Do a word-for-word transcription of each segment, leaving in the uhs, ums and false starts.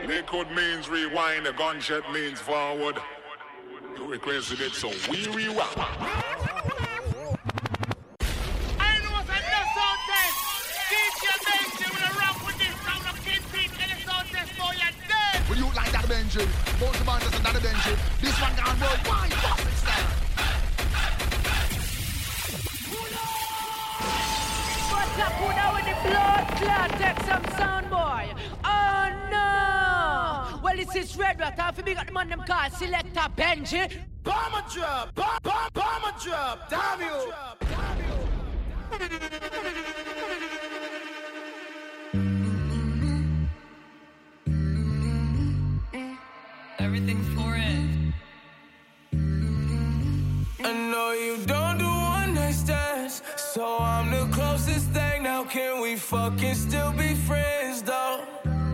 Liquid means rewind, a gunshot means forward. You requested it, so we rewind. I know what's in the sound test. D J Benji will rock with this round of King Pete in the sound test, boy, you're dead. Will you like that Benji? Both the band doesn't that Benji. This one gone worldwide, fuck it style. What's up, who now with the blood clot? Take some sound, boy. Oh no! Well, this is Red Rat. If you got the man them called Selector Benji. Bomber drop, bomb, bomb, bomber drop. Damn you! Everything for it. I know you don't do one night stands, so I'm the closest thing. Now can we fucking still be friends though?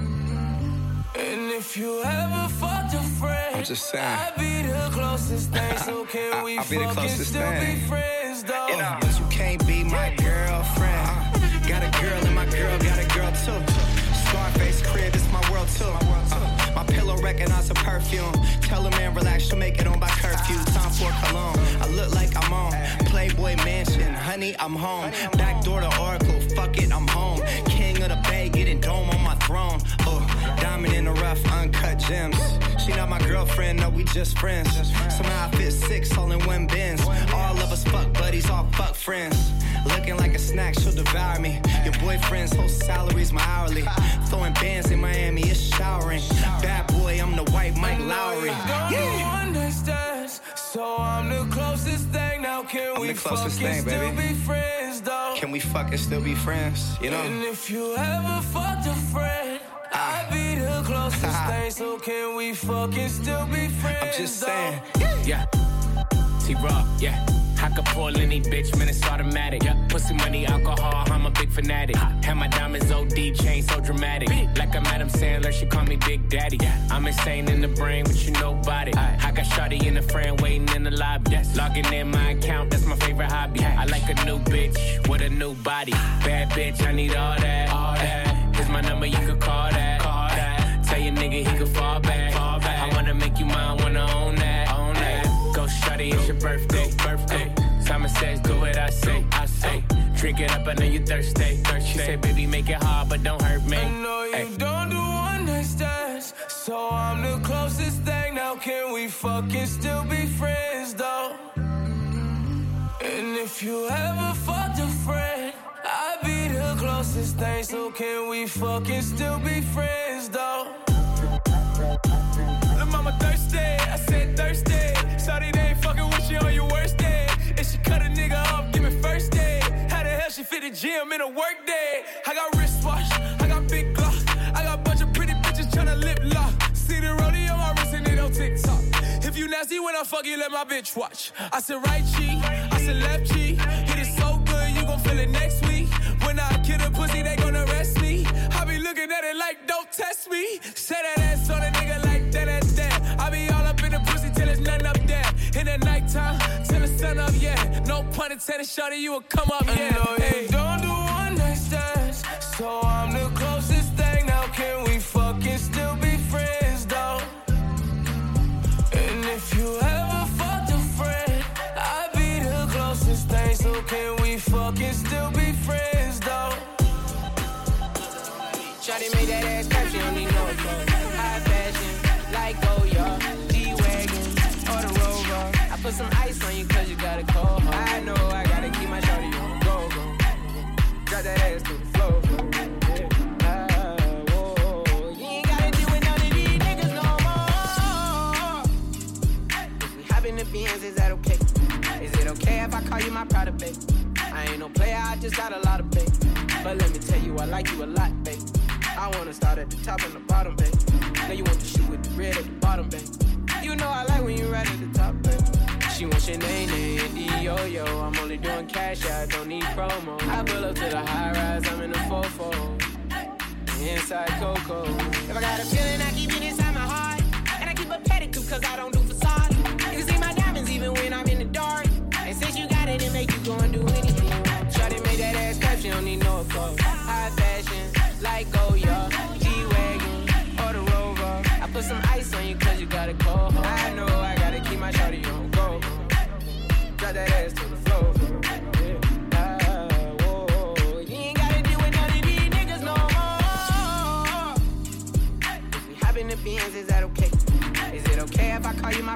And if you ever fucked a friend, I'm just saying, I'd be the closest thing. So can we I'll be the fucking closest still thing. be friends though? You know, but you can't be my girlfriend. Uh, got a girl and my girl got a girl too. Scarface crib, it's my world too. Uh, my pillow recognize a perfume. Tell a man relax, she'll make it on by curfew. Time for cologne. I look like I'm on Playboy Mansion. Honey, I'm home. Back door to Oracle. Fuck it, I'm home. King of the Bay, getting dome on my throne. Oh, diamond in the rough, uncut gems. She not my girlfriend, no, we just friends. Somehow I fit six all in one bins. All of us fuck buddies, all fuck friends. Looking like a snack, she'll devour me. Your boyfriend's whole salary's my hourly. Throwing bands in Miami, it's showering. Bad boy, I'm the white Mike Lowry. Yeah. One night stands, so I'm the closest thing. Now can I'm we the closest fucking thing, still baby. be friends though? Can we fucking still be friends? You know? And if you ever fucked a friend, Ah. I'd be the closest Ah. thing. So can we fucking still be friends? I'm just though? saying. Yeah. T-Raw, yeah. I could pull any bitch, man, it's automatic. Yeah. Pussy, money, alcohol, I'm a big fanatic. Have my diamonds O D, chain so dramatic. Like I'm Adam Sandler, she call me Big Daddy. Yeah. I'm insane in the brain, but you nobody. I got shawty in the frame, waiting in the lobby. Yes. Logging in my account, that's my favorite hobby. I like a new bitch with a new body. Bad bitch, I need all that. All that. Here's my number, you could call that. Call that. Tell your nigga he could fall back. Fall back. I wanna make you mine, wanna own that. Own that. Go shawty, it's your birthday. Birthday. Simon says, do what I say. I say. Drink it up, I know you thirsty. thirsty. She said, baby, make it hard, but don't hurt me. I know you Ay. don't do one night stands, so I'm the closest thing. Now can we fucking still be friends though? And if you ever fucked a friend, I'd be the closest thing. So can we fucking still be friends though? Lil' mama thirsty, I said thirsty. Sorry they ain't fucking with you on your worst day. If she cut a nigga off, give me first day. How the hell she fit the gym in a work day? I got wristwatch, I got big glock, I got a bunch of pretty bitches tryna lip lock. See the rodeo on my wrist and it on TikTok. If you nasty when I fuck you, let my bitch watch. I said right cheek, I said left cheek. Hit it so good, you gon' feel it next week. When I kill a pussy, they gon' arrest me. I be looking at it like, don't test me. Say that ass on a nigga like that, that's that. I be all up in the pussy till there's nothing up there. In the nighttime, till the sun up, yeah. No pun intended, shawty, you will come up, yeah. I know Hey. you don't do one night stands, so I'm the closest thing. Now can we fucking still be friends though? And if you ever fucked a friend, I'd be the closest thing. So can we fucking still be friends though? Shawty made that ass clap, she don't need no clothes. High fashion, like Goya, G-Wagon, or the Rover. I put some ice on you cause you got a cold heart. I know I gotta keep my shawty on the go, go. Drop that ass to the floor. Yeah. Ah, whoa. You ain't gotta deal with none of these niggas no more. If we hop in the Benz, is that okay? Is it okay if I call you my pride of babe? I ain't no player, I just got a lot of babe. But let me tell you, I like you a lot, babe. I wanna start at the top and the bottom, babe. Now you want to shoot with the red at the bottom, babe. You know I like when you right at the top, babe. She wants your name, and D-yo-yo. I'm only doing cash, I don't need promo. I pull up to the high rise, I'm in the fofo. Inside Coco. If I got a feeling, I keep it inside my heart. And I keep a pedicure, cause I don't do facade. You can see my diamonds even when I'm in the dark. And since you got it, it make you go and do anything. Shawty made that ass clap, she don't need no clothes. High fashion, like Goya, G-Wagon, or the Rover.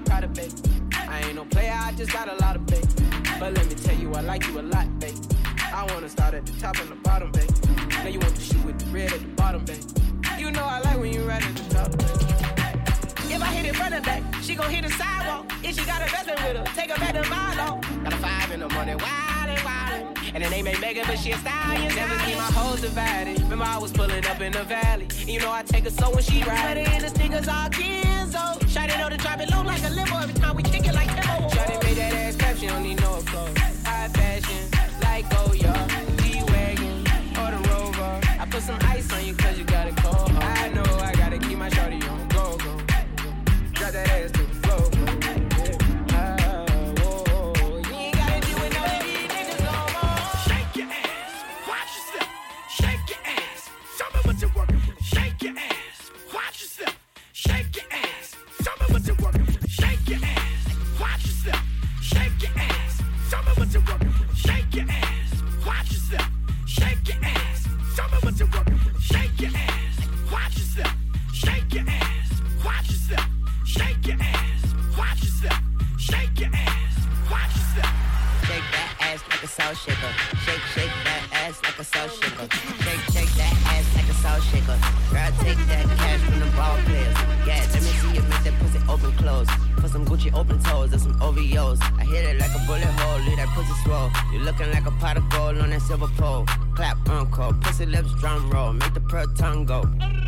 I'm proud of, babe. I ain't no player, I just got a lot of babe. But let me tell you, I like you a lot, babe. I wanna start at the top and the bottom, babe. Now you want to shoot with the red at the bottom, babe. You know I like when you right at the top, babe. If I hit it front and back, she gon' hit the sidewalk. If she got a best with her, take her back to my law. Got a five in the morning, wildin', wildin'. And the name ain't Megan, but she a stallion. Never keep my hoes divided. Remember I was pulling up in the valley. You know I take her so when she ride. Sweater in the sneakers all Kenzo. Shawty know to drop it low like a limo. Every time we kick it like Kimbo. Shawty made that ass clap, she don't need no clothes. High fashion, like Goya, G-Wagon, or the Rover. I put some ice on you cause you got it cold. I know I gotta keep my shawty on go, go. Drop that ass to the floor, yeah. Ah, whoa, whoa. You ain't gotta deal with none of these niggas no more. Shake your ass, watch yourself. Shake your ass, show me what you're working with. Shake your ass, watch yourself. Shake your ass, show me what you're working with. Shake your ass, watch yourself. Shake your ass, show me what you're working with. Shake your ass, watch yourself. Shake your ass, show me what you're working with. Shake your ass, watch yourself. Shake your ass, watch yourself. Shake your ass, watch yourself. Shake your ass, watch yourself. Shake that ass like a soul shaker. Shake, shake that ass like a soul shaker. Shake, shake that ass like a soul shaker. Girl, take that cash from the ball players. Yeah, let me see you make that pussy open close. Put some Gucci open toes and some O V Os. I hit it like a bullet hole, leave that pussy swole. You looking like a pot of gold on that silver pole. Clap, uncle, pussy lips, drum roll. Make the pearl tongue go.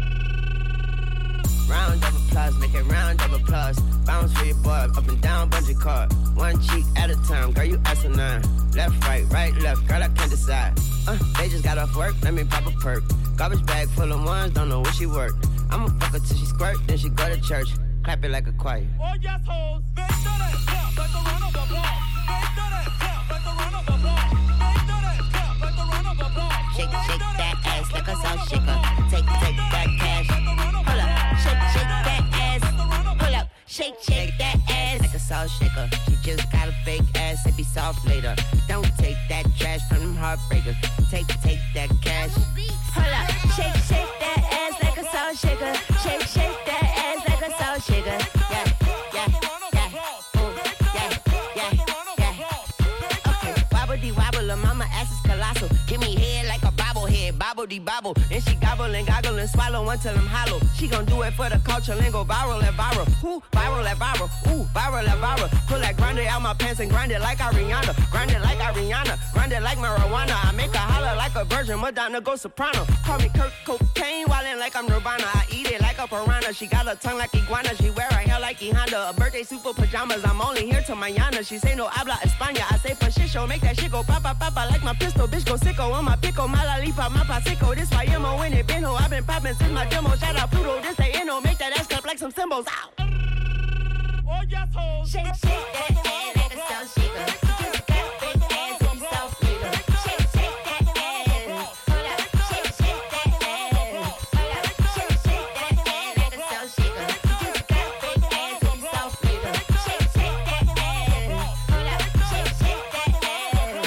Round of applause, make it round of applause. Bounce for your boy, up and down, bungee cord. One cheek at a time, girl, you asinine. Left, right, right, left, girl, I can't decide. Uh, they just got off work, let me pop a perk. Garbage bag full of ones, don't know where she work. I'ma fuck her till she squirt, then she go to church. Clap it like a choir. Oh yes, hoes, they do that clap like the run of a ball. They do that clap like the run of a ball. They do that clap like the run of a ball. Shake, shake that ass like a soul shaker. Take, take that cash. Hold up, shake, shake that ass. Hold up, shake, shake that ass like a soul shaker. She just got a fake ass, it be soft later. Don't take that trash from them heartbreakers. Take, take that cash. Hold up, shake, shake that ass like a soul shaker. Shake, shake that ass like a soul shaker. Yeah, yeah, yeah, ooh, yeah, yeah, yeah. Okay, wobble de wobble, her mama ass is colossal. Give me head like a bobblehead, bobble de bobble. And she gobble and goggle and swallow until I'm hollow. She gon' do it for the culture and go viral and viral. Ooh, viral and viral, ooh, viral and viral. Pull that grande out my pants and grind it like Ariana. Grind it like Ariana, grind it like marijuana. I make her holler like a virgin, Madonna go soprano. Call me Kurt Cocaine, wildin' like I'm Nirvana. I eat it like a piranha. She got a tongue like iguana. She wear her hair like E Honda. A birthday super pajamas. I'm only here till mañana. She say no habla España. I say for shit show, make that shit go papa papa like my pistol. Bitch go sicko on my pickle, my lollipop, my pasico. This why I'm when it been ho. I've been poppin' since my demo. Shout out Pluto, this they inno. Make that ass clap like some cymbals. Ow. Oh yes, hoes. Shake, shake that ass like a soul shaker. You just got a big ass and you soft nigga. Shake, shake that ass. Hold up, shake, shake that ass. Hold up, shake, shake that ass like a soul shaker. You just got a big ass and you soft nigga. Shake, shake that ass. Hold up, shake, shake that ass.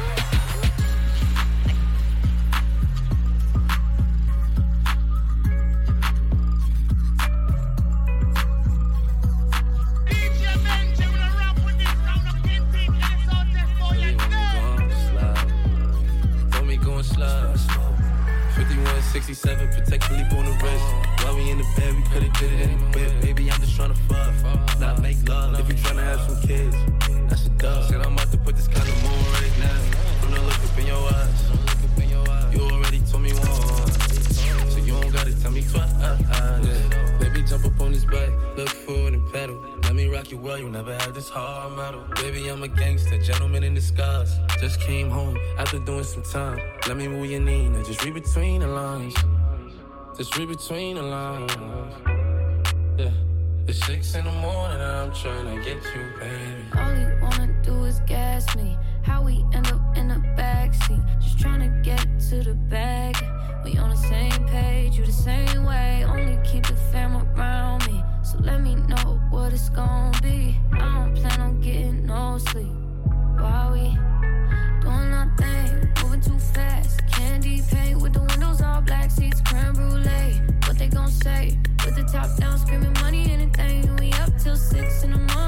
fifty-one sixty-seven, protect Philippe on the wrist. While we in the bed, we could've did it in the whip. Baby, I'm just tryna fuck, not make love. If you tryna have some kids, that's a dub. Said I'm about to put this kind of moon right now. From the look up in your eyes, you already told me once, so you don't gotta tell me twice. Yeah. Baby, jump up on this bike, look forward and pedal. Let me rock you well, you never had this hard metal. Baby, I'm a gangster, gentleman in disguise. Just came home after doing some time. Let me move your knee, now just read between the lines. Just read between the lines. Yeah, it's six in the morning and I'm trying to get you, baby. All you wanna do is gas me. How we end up in the backseat, just trying to get to the bag. We on the same page, you the same way. Only keep the fam around me, so let me know what it's gonna be. I don't plan on getting no sleep while we doing our thing, moving too fast. Candy paint with the windows all black, seats creme brulee. What they gon' say? With the top down, screaming money, anything. We up till six in the morning.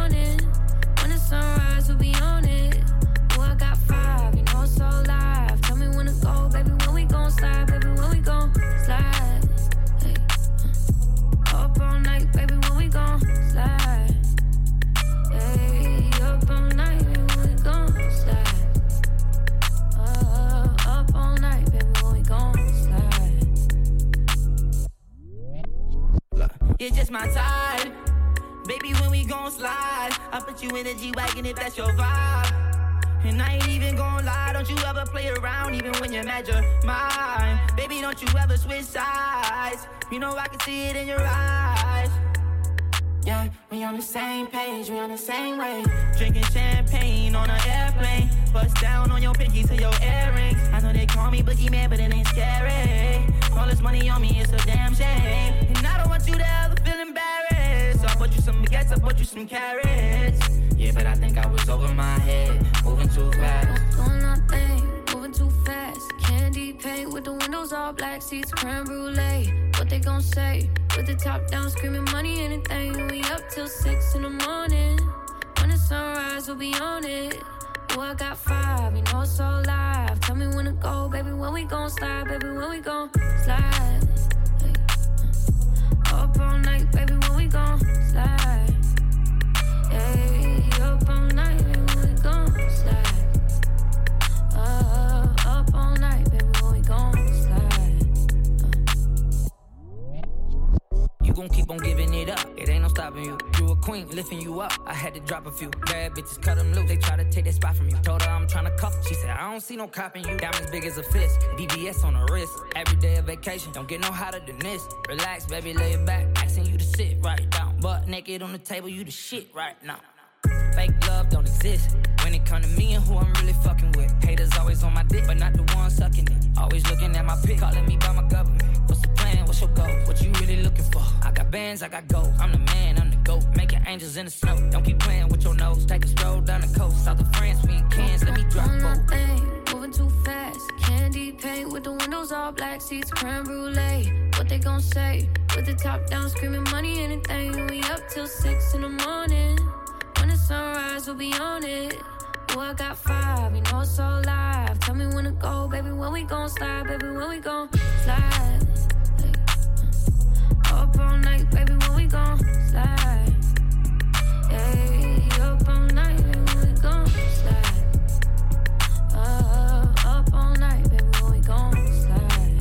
You're just my type. Baby, when we gon' slide, I put you in the G-Wagon if that's your vibe. And I ain't even gon' lie, don't you ever play around even when you're mad you're mine. Baby, don't you ever switch sides. You know I can see it in your eyes. Yeah, we on the same page, we on the same way. Drinking champagne on an airplane. Bust down on your pinky to your earrings. I know they call me boogeyman, but it ain't scary. All this money on me, it's a damn shame. And I don't want you to ever feel embarrassed. So I bought you some baguettes, I bought you some carrots. Yeah, but I think I was over my head, moving too fast. Doing nothing, moving too fast. Candy paint with the windows all black, seats creme brulee. What they gon' say? With the top down, screaming money, anything. We up till six in the morning. When the sunrise, we'll be on it. Oh, I got five, you know it's so live. Tell me when to go, baby, when we gon' slide, baby, when we gon' slide. Hey, uh, up all night, baby, when we gon' slide. Hey, up all night, baby, when we gon' slide. Uh, up all night, baby, when we gon' slide. You gon' keep on giving it up, it ain't no stopping you. You a queen, lifting you up, I had to drop a few. Bad bitches cut them loose, they try to take that spot from you. Told her I'm tryna cuff, she said I don't see no cop in you. Diamonds big as a fist, D B S on the wrist. Every day a vacation, don't get no hotter than this. Relax, baby, lay it back, asking you to sit right down. Butt naked on the table, you the shit right now. Fake love don't exist when it come to me and who I'm really fucking with. Haters always on my dick, but not the one sucking it. Always looking at my pic, calling me by my government. What's the plan? What's your goal? What you really looking for? I got bands, I got gold. I'm the man, I'm the GOAT. Making angels in the snow. Don't keep playing with your nose. Take a stroll down the coast, south of France, we in Cairns. Let me drop both. Moving too fast. Candy paint with the windows all black, seats creme brulee. What they gon' say? With the top down, screaming money, anything. We up till six in the morning. When the sunrise, we'll be on it. Oh, I got five, you know it's so live. Tell me when to go, baby, when we gon' slide, baby, when we gon' slide. Hey, uh, up all night, baby, when we gon' slide. Hey, up all night, baby, when we gon' slide. Uh, up all night, baby, when we gon' slide.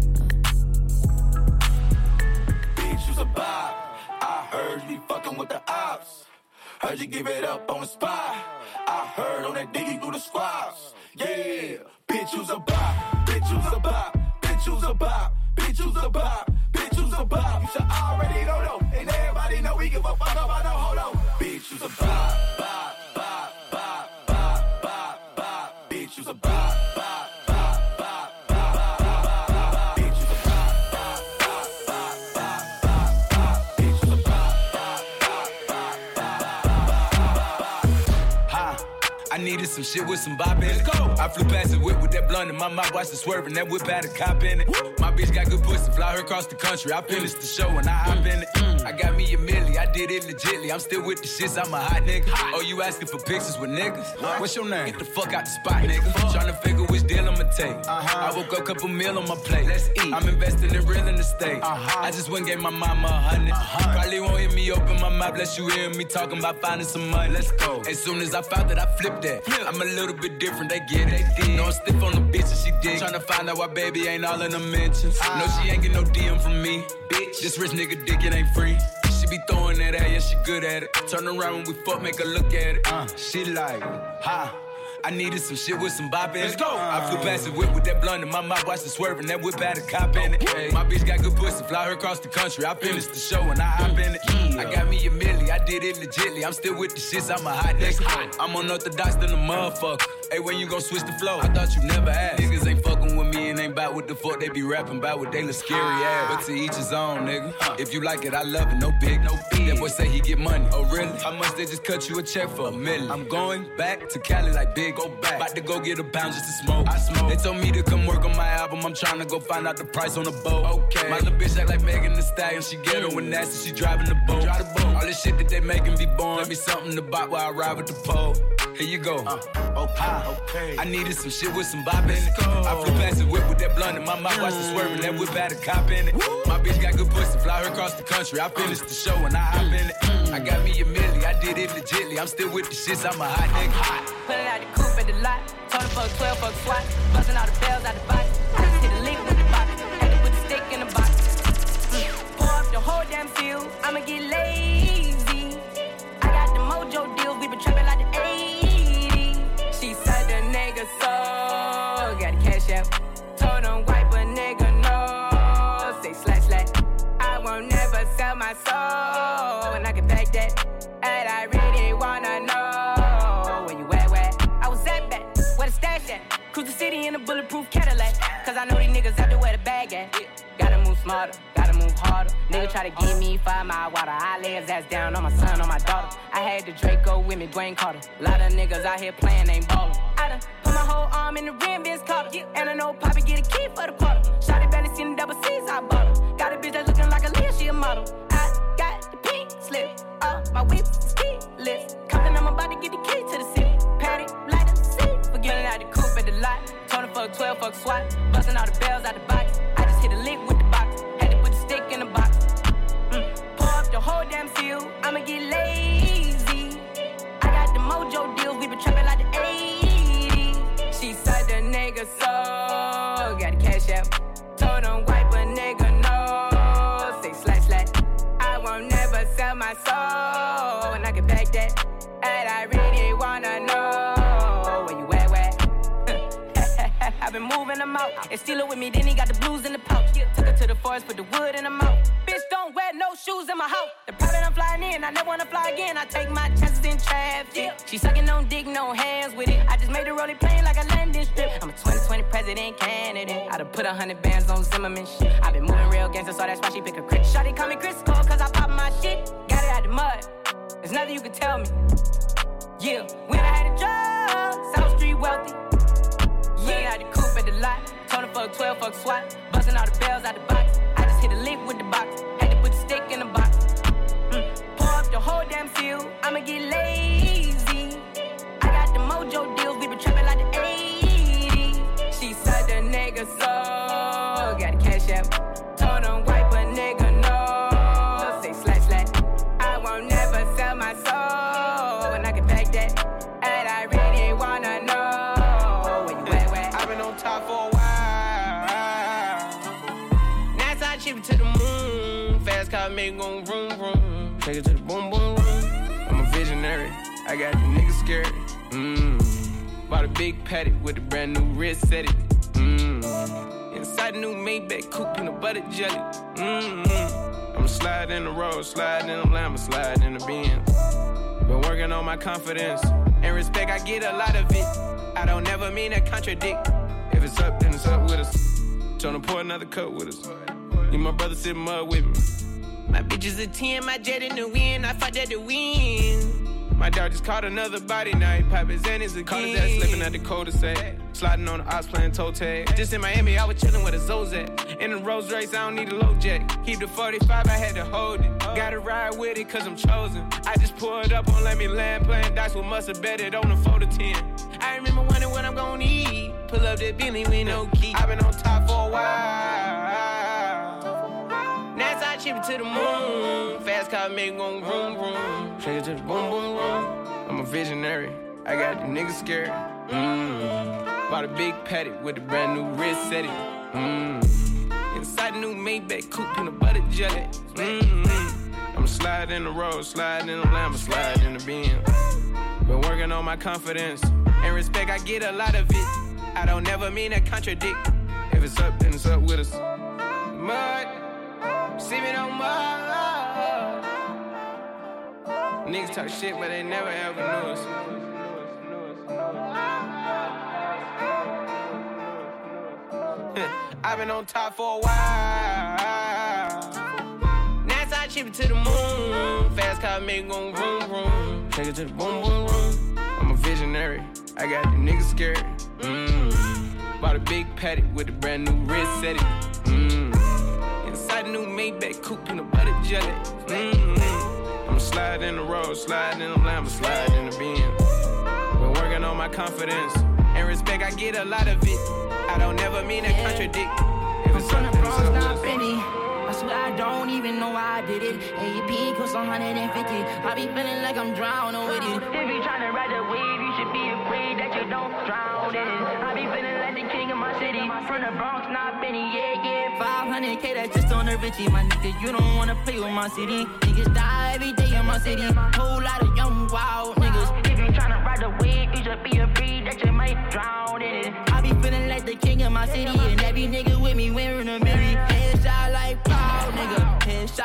Uh. Bitch, you's a bop. I heard you be fucking with the ops. Heard you give it up on the spot. I heard on that diggy through the squads. Yeah, bitch, you's a bop. Bitch, you's a bop. Bitch, you's a bop. Bitch, you's a bop. Bitch, you's a bop. You should already know, though. And everybody know we give a fuck about no hold on. Bitch, you's a bop. Bop, bop, bop, bop, bop, bop. Bitch, you's a bop. Bop, bop, bop, bop, bop, bop. Bitch, you's a bop. Bop, bop, bop, bop, bop, bop. Bitch, you's a bop. Bop, bop, bop, bop, bop. Ha, I needed some shit with some bop in it. Let's go. I flew past the whip with that blunt in my mouth, watched it swerving. That whip had a cop in it. Woo. My bitch got good pussy, fly her across the country. I finished the show and I hop in it. Mm. I got me a milli, I did it legitly. I'm still with the shits, I'm a hot nigga. Hot. Oh, you asking for pictures with niggas? What? What's your name? Get the fuck out the spot, nigga. Tryna figure which deal I'ma take. Uh-huh. I woke up, couple meal on my plate. Let's eat. I'm investing in real estate. Uh-huh. I just went and gave my mama a hundred. Uh-huh. Probably won't hear me open my mouth, unless you hear me talking about finding some money. Let's go. As soon as I found that, I flipped that. Flip. I'm a little bit different, they get it. They did. No, I'm stiff on the bitch and she dig. Tryna find out why baby ain't all in the mentions. Uh-huh. No, she ain't get no D M from me. Bitch, this rich nigga dick, it ain't free. She be throwing that at, yeah, she good at it. Turn around when we fuck, make her look at it. Uh, she like, ha. I needed some shit with some bop in it. Let's go. I flew past the whip with that blunt in my mouth, watched it swerving. That whip had a cop in it. Hey, my bitch got good pussy, fly her across the country. I finished the show and I hop in it. I got me a milli, I did it legitly. I'm still with the shits, I'm a hot nigga. I'm unorthodox than a motherfucker. Hey, when you gon' switch the flow? I thought you never asked. Niggas ain't fucking with me and ain't bout what the fuck they be rapping about, what they look scary ass. But to each his own, nigga. If you like it, I love it, no big, no big. That boy say he get money. Oh, really? How much they just cut you a check for? A million. I'm going back to Cali like big, go back. About to go get a pound just to smoke. I smoke. They told me to come work on my album. I'm trying to go find out the price on the boat. Okay. My little bitch act like Megan Thee Stallion. She ghetto and nasty, she driving the boat. Drive the boat. All this shit that they making be born. Let me something to buy while I ride with the pole. Here you go. Uh, okay, okay. I needed some shit with some bop in it. I flew past the whip with that blunt in my mouth, watched it swerving. That whip had a cop in it. My bitch got good pussy, fly her across the country. I finished the show and I hop in it. I got me a milli, I did it legitly. I'm still with the shits, I'm a hot nigga. Pulling out the coupe at the lot, Tony fuck twelve fuck swat, busting all the bells out the box. I just hit a lick with the box, had to put the stick in the box. Mm. Pour up the whole damn field, sell my soul, and I can back that. And I really wanna know where you at, where I was at back, where the stash at. Cruise the city in a bulletproof Cadillac, cause I know these niggas out there where the bag at. Gotta move smarter, gotta move harder. Nigga try to give me five mile water. I lay his ass down on my son, on my daughter. I had the Draco with me, Dwayne Carter. Lot of niggas out here playing, ain't ballin'. I done put my whole arm in the rim, Vince Carter. And I know Poppy get a key for the quarter. Shawty barely seen the double C's, I bought her. Got a bitch that's looking like a Leah, she a model. I got the pink slip, uh, my whip is keyless. Compton, I'm about to get the key to the city. Patty, light up the seat. Forgetting out the coupe at the lot. Tony fuck twelve, fuck SWAT. Busting all the bells out the box. I just hit a lick with the box. Had to put the stick in the box. Mm. Pour up the whole damn seal. I'ma get lazy. I got the mojo deals. We been trapping like the eighties. She said the nigga so. Got the cash out. Told him wipe a nigga no. Say slash slash. I won't never sell my soul. And I can back that. And I really wanna know where you at, where? I've been moving them out. And steal it with me, then he got the blues in the pouch. Took her to the forest, put the wood in the mouth. Bitch, don't wear no shoes in my house. The private I'm flying in, I never wanna fly again. I take my chances in traffic. She sucking on dick, no hands with it. I just made the rolling plane like a landing strip. I'm a twenty twenty president candidate. I done put a hundred bands on Zimmerman shit. I been moving real gangster, so that's why she pick a crit. Shawty call me Chris Cole, cause I pop my shit. Got it out the mud. There's nothing you can tell me. Yeah, when I had a job, South Street wealthy. Yeah, I had the coupe at the lot. Told him fuck twelve, fuck SWAT. Busting all the bells out the box. I just hit a lick with the box. Had to put the stick in the box. Mm. Pour up the whole damn seal. I'ma get lazy. I got the mojo deals. We been trapping like the eighties. She said the nigga so. Got the cash out. Told him wipe a nigga no. Say slash slash. I won't never sell my soul. And I can back that. And I really wanna know. Top for a while. Now I chip it to the moon. Fast car make gon' vroom vroom. Take it to the boom boom room. I'm a visionary. I got the niggas scared. Mmm. Bought a big paddock with a brand new wrist set it. Mmm. Inside the new Maybach coupe, peanut butter jelly. Mmm. I'ma slide in the road, slide in the Lambo, slide in the Benz. Been working on my confidence and respect. I get a lot of it. I don't never mean to contradict. If it's up, then it's up with us. Tryna pour another cup with us. Need my brother sit mud with me. My bitch is a ten, my jet in the wind. I fought at the wind. My dog just caught another body, now he pop his Xannies again. Caught his ass slipping at the cul-de-sac. Sliding on the ops playing toe tag. Just in Miami, I was chilling with a Zozak. In the Rolls Royce, I don't need a low jack. Keep the forty-five, I had to hold it. Gotta ride with it, cause I'm chosen. I just pulled up on Let Me Land, playing dice with mustard betted on the four to ten. I remember wondering what I'm gonna eat. Pull up that Bentley with no key. I've been on top for a while. Now I chip it to the moon. Fast car make gon' vroom vroom. Take it to the boom boom room. I'm a visionary. I got the niggas scared. Mmm. Bought a big paddock with a brand new wrist set it. Mmm. Inside the new Maybach coupe, peanut butter jelly. Mmm. I'ma slide in the road, slide in the Lambo, slide in the Benz. Been working on my confidence and respect. I get a lot of it. I don't never mean to contradict. If it's up, then it's up with us. Mud, sipping on mud. Niggas talk shit, but they never ever knew us. I've been on top for a while. Now I chip it to the moon. Fast car make gon' vroom vroom. Take it to the boom boom room. I'm a visionary. I got the niggas scared. Mmm. Bought a big paddock with a brand new wrist set it. Mmm. Inside the new Maybach coupe, peanut butter jelly. Mmm. I'ma slide in the road, slide in the Lambo, slide in the Benz. Been working on my confidence and respect. I get a lot of it. I don't never mean to contradict. If it's something, it's up with us. I swear I don't even know why I did it. A P cost one hundred fifty. I be feeling like I'm drowning with it. If you tryna ride the wave, you should be afraid that you don't drown in it. I be feeling like the king of my city. From the Bronx, not Benny, yeah, yeah. five hundred K, that's just on the Richie. My nigga, you don't wanna play with my city. Niggas die every day in my city. Whole lot of young, wild niggas. If you tryna ride the wave, you should be afraid that you might drown in it. I be feeling like the king of my city. And every nigga with me wearing a mirror. Headshot like proud nigga. Headshot like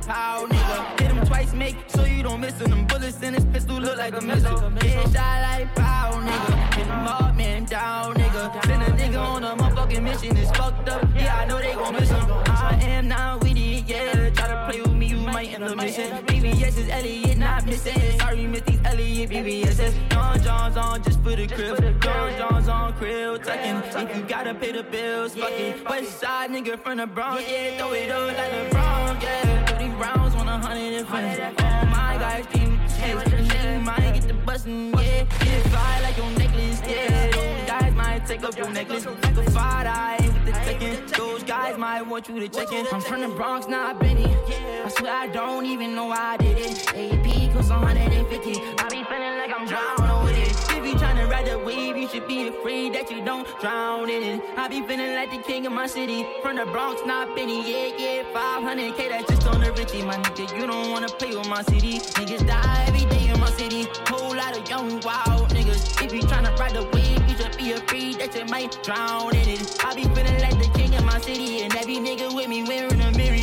pow, nigga. Hit him twice, make sure you don't miss him. Them bullets in his pistol look like a missile. Headshot like pow, nigga. Hit him up, man, down, nigga. Send a nigga on a motherfucking mission. It's fucked up, yeah, I know they gon' miss him. I am now with it, yeah. Try to play with me, you might end up missing. B B S is Elliot, not missing. Sorry, miss these Elliot, B B S S. John John's on just for the crib. John John's on krill, tucking. If you gotta pay the bills, fuck it. West side nigga from the Bronx, yeah, throw it up like the Bronx, yeah. thirty rounds on a hundred and friends. All my guys, team, yeah. You might get the bustin', yeah. Get fly like your necklace, yeah. Those guys might take up your necklace like a five eye with the chicken. Those guys might want you to check in. I'm from the Bronx, not Benny. I swear I don't even know why I did it. A P cost one hundred fifty. I be feeling like I'm drowning with it. If you tryna ride the wave, you should be afraid that you don't drown in it. I be feeling like the king of my city. From the Bronx, not Benny. Yeah, yeah, five hundred K, that's just on the Richie. My nigga, you don't wanna play with my city. Niggas die every day in my city. Whole lot of young, wild niggas. If you tryna ride the wave, you should be afraid that you might drown in it. I be feeling like the king of my city. And every nigga with me wearing a mirror.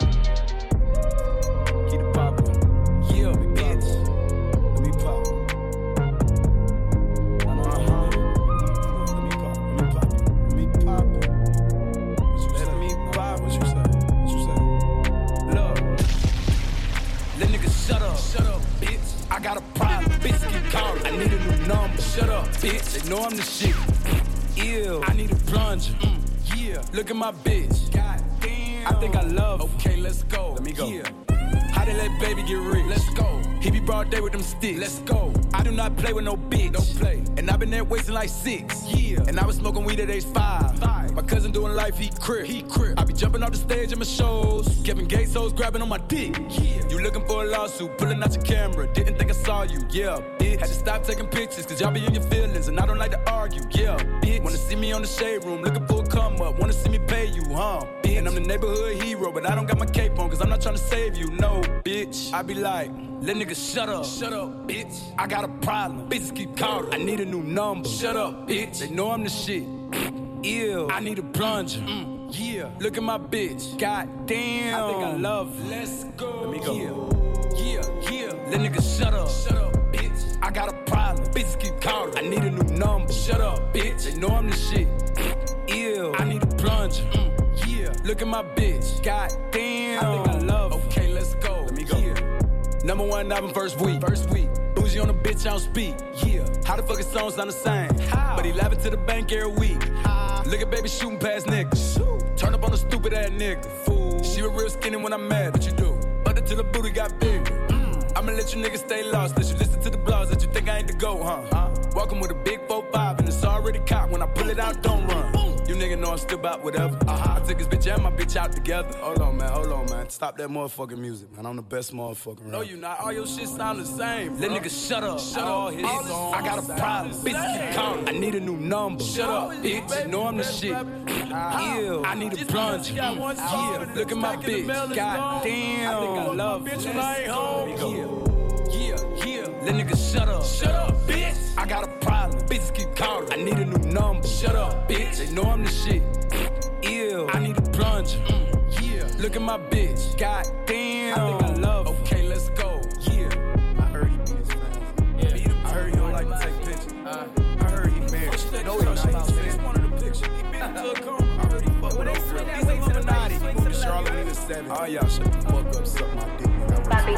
Keep it poppin'. Yeah, bitch. Let me pop. Uh-huh. Let me pop. Let me pop. Let me pop. Let me pop. What you say? What you say? Look. Let niggas shut up. Shut up, bitch. I got a problem. Bitch, keep calling. I need a new number. Shut up, bitch. They know I'm the shit. Ew. I need a plunger. Mm. Yeah. Look at my bitch. God damn. I think I love her. Okay, let's go. Let me go. Yeah. How they let baby get rich? Let's go. He be broad day with them sticks. Let's go. I do not play with no bitch. Don't play. And I been there wasting like six. Yeah. And I was smoking weed at age five. Five. My cousin doing life, he crip. He crip. I be jumping off the stage in my shows. Kevin Gates hoes grabbing on my dick. Yeah. You looking for a lawsuit, pulling out your camera. Didn't think I saw you. Yeah, bitch. Had to stop taking pictures, cause y'all be in your feelings. And I don't like to argue. Yeah, bitch. Wanna see me on the shade room, looking for a come up. Wanna see me pay you, huh? Bitch. And I'm the neighborhood hero, but I don't got my cape on, cause I'm not trying to save you. No, bitch. I be like, let niggas shut up. Shut up, bitch. I got a problem. Bitches keep calling. I need a new number. Shut up, bitch. They know I'm the shit. Ew. I need a plunger. Mm. Yeah. Look at my bitch. God damn. I think I love her. Let's go. Let me go. Yeah. Yeah. Yeah. Let niggas shut up. Shut up, bitch. I got a problem. Bitches keep calling. I need a new number. Shut up, bitch. They know I'm the shit. Ew. I need a plunger. Mm. Yeah. Look at my bitch. God damn. I think I love her. Okay, let's go. Let me go. Yeah. Number one album first week. First week. Bougie on the bitch, I don't speak. Yeah. How the fuck his songs sound the same? How? But he laughing to the bank every week. How? Look at baby shooting past niggas. Shoot. Turn up on a stupid ass nigga. Fool. She was real skinny when I'm mad. What you do? Butter till the booty got bigger. Mm. I'ma let you niggas stay lost. Let you listen to the blogs that you think I ain't the go, huh? huh? Walking with a big four five and it's already cocked. When I pull it out, don't run. You nigga know I'm still about whatever. Uh-huh. I took his bitch and my bitch out together. Hold on, man. Hold on, man. Stop that motherfucking music, man. I'm the best motherfucker around. No, you not. All your shit sound the same. Let niggas shut up. Shut up. His songs I got a problem. Bitch keep calling. I need a new number. Shut up, bitch. You know I'm the shit. Ew. I need a plunger. Yeah. Look at my bitch. God damn. I think I love her. Bitch, when I ain't home. Yeah. Yeah. Let niggas shut up. Shut up, bitch. I got a problem. Bitches keep calling. I need a new number. Shut up, bitch. They know I'm the shit. Ew. I need a plunger. Mm. Yeah. Look at my bitch. God damn. I think I love her. Okay, let's go. Yeah. I heard he beat his fans. Yeah. I heard he don't like to take pictures. Uh, I heard he married. No, he don't. He wanted a picture. He beat him to a car. I heard he fucked with those girls. He's a Illuminati. He moved to Charlotte in the seventies. All y'all shut the fuck up. Suck my dick. Bobby,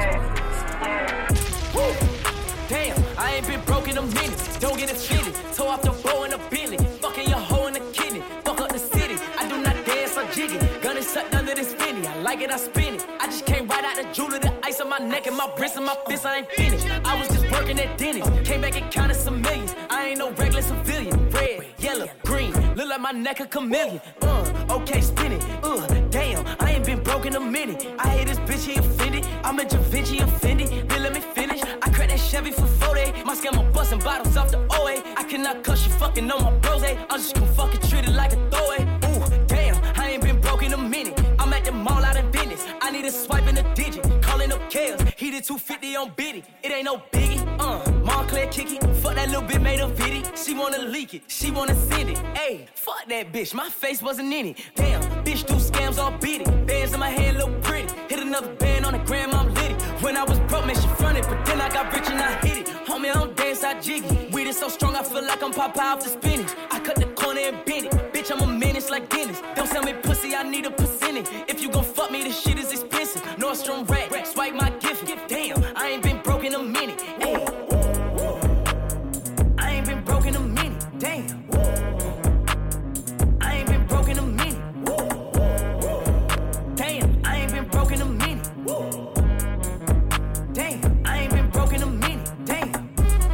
yeah. Woo. Damn, I ain't been broke in a minute. Don't get it fitted. Toe off the bow in a Bentley. Fucking your hoe in the kidney. Fuck up the city. I do not dance or jiggy. Gun is sucked under this finny. I like it, I spin it. I just came right out the jewelry. The ice on my neck and my wrist and my fist. I ain't finished. I was just working at Denny's. Came back and counted some millions. I ain't no regular civilian. Red, yellow, green. Look like my neck a chameleon. Uh, okay, spin it. Uh, damn, I ain't been broke in a minute. I hate this bitch, he offended. I'm a Da Vinci offended. Then let me finish. I cracked that Chevy for forty. My scammer busting bottles off the O A. I cannot cuss you fucking on my bros. I'm just gonna fucking treat it like a throwaway. Ooh, damn, I ain't been broke in a minute. I'm at the mall out in business. I need a swipe in a digit. Calling up Kales. He did two fifty on Biddy. It ain't no biggie. Uh, Montclair kicky. Fuck that little bit made a viddy. She wanna leak it. She wanna send it. Ayy, fuck that bitch. My face wasn't in it. Damn, bitch do scams all beat it. Bands in my hand look pretty. Hit another got rich and I hit it. Homie, I don't dance, I jiggy. Weed is so strong, I feel like I'm Popeye off the spinach. I cut the corner and bend it. Bitch, I'm a menace like Dennis. Don't sell me pussy, I need a percentage. If you gon' fuck me, this shit is expensive. Nordstrom rack, swipe my gift. Damn, I ain't been broke in a minute. Ay. I ain't been broke in a minute. Damn. I ain't been broke in a minute. Damn, I ain't been broke in a minute. Damn, I ain't been broke in a minute. Damn.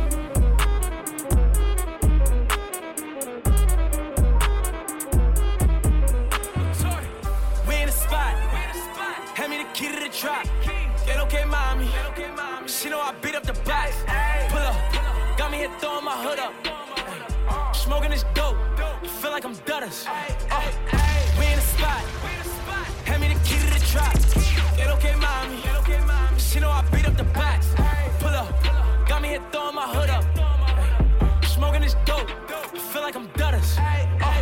We in the spot. Hand me the key to the trap. Get okay, mommy. She know I beat up the box. Pull up. Got me here throwing my hood up. Smoking this dope. Feel like I'm Dutters. Uh, we in the spot. Hand me the key to the trap. Get okay, mommy. She know I beat up the box. Pull up. Got me here throwing my hood up. Smoking this dope. Feel like I'm Dutters. Uh,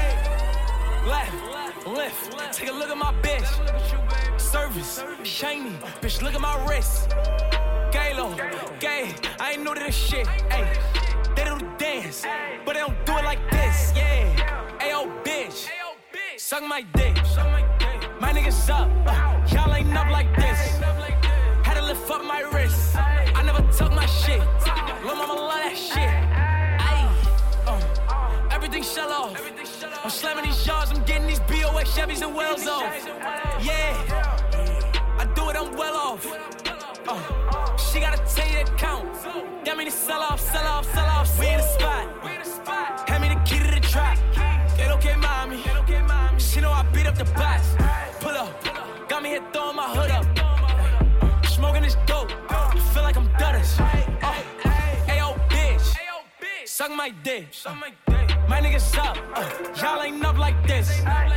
left, lift. Take a look at my bitch. Service, shiny. Bitch, look at my wrist. Galo, gay. I ain't new to this shit. Ay, they do the dance, but they don't do it like this. Yeah. Ayo, bitch. Suck my dick. My niggas up. Uh, y'all ain't up like this. Had to lift up my wrist. I never took my shit. Lil' mama love that shit. Ay, uh, everything shell off. I'm slamming these yards. I'm getting these B O X Chevys and Wells off. Yeah. I do it, I'm well off. Uh, she got a ten-year account. Got me to sell off, sell off, sell off. We in the spot. Hand me the key to the trap. Get okay, mommy. She know I beat up the box. Pull up. Got me here throwing my hood up. Smoking this dope. Feel like I'm Dutters. Uh, Ayo, bitch. Suck my dick. Uh, my niggas up. Uh, y'all ain't up like this.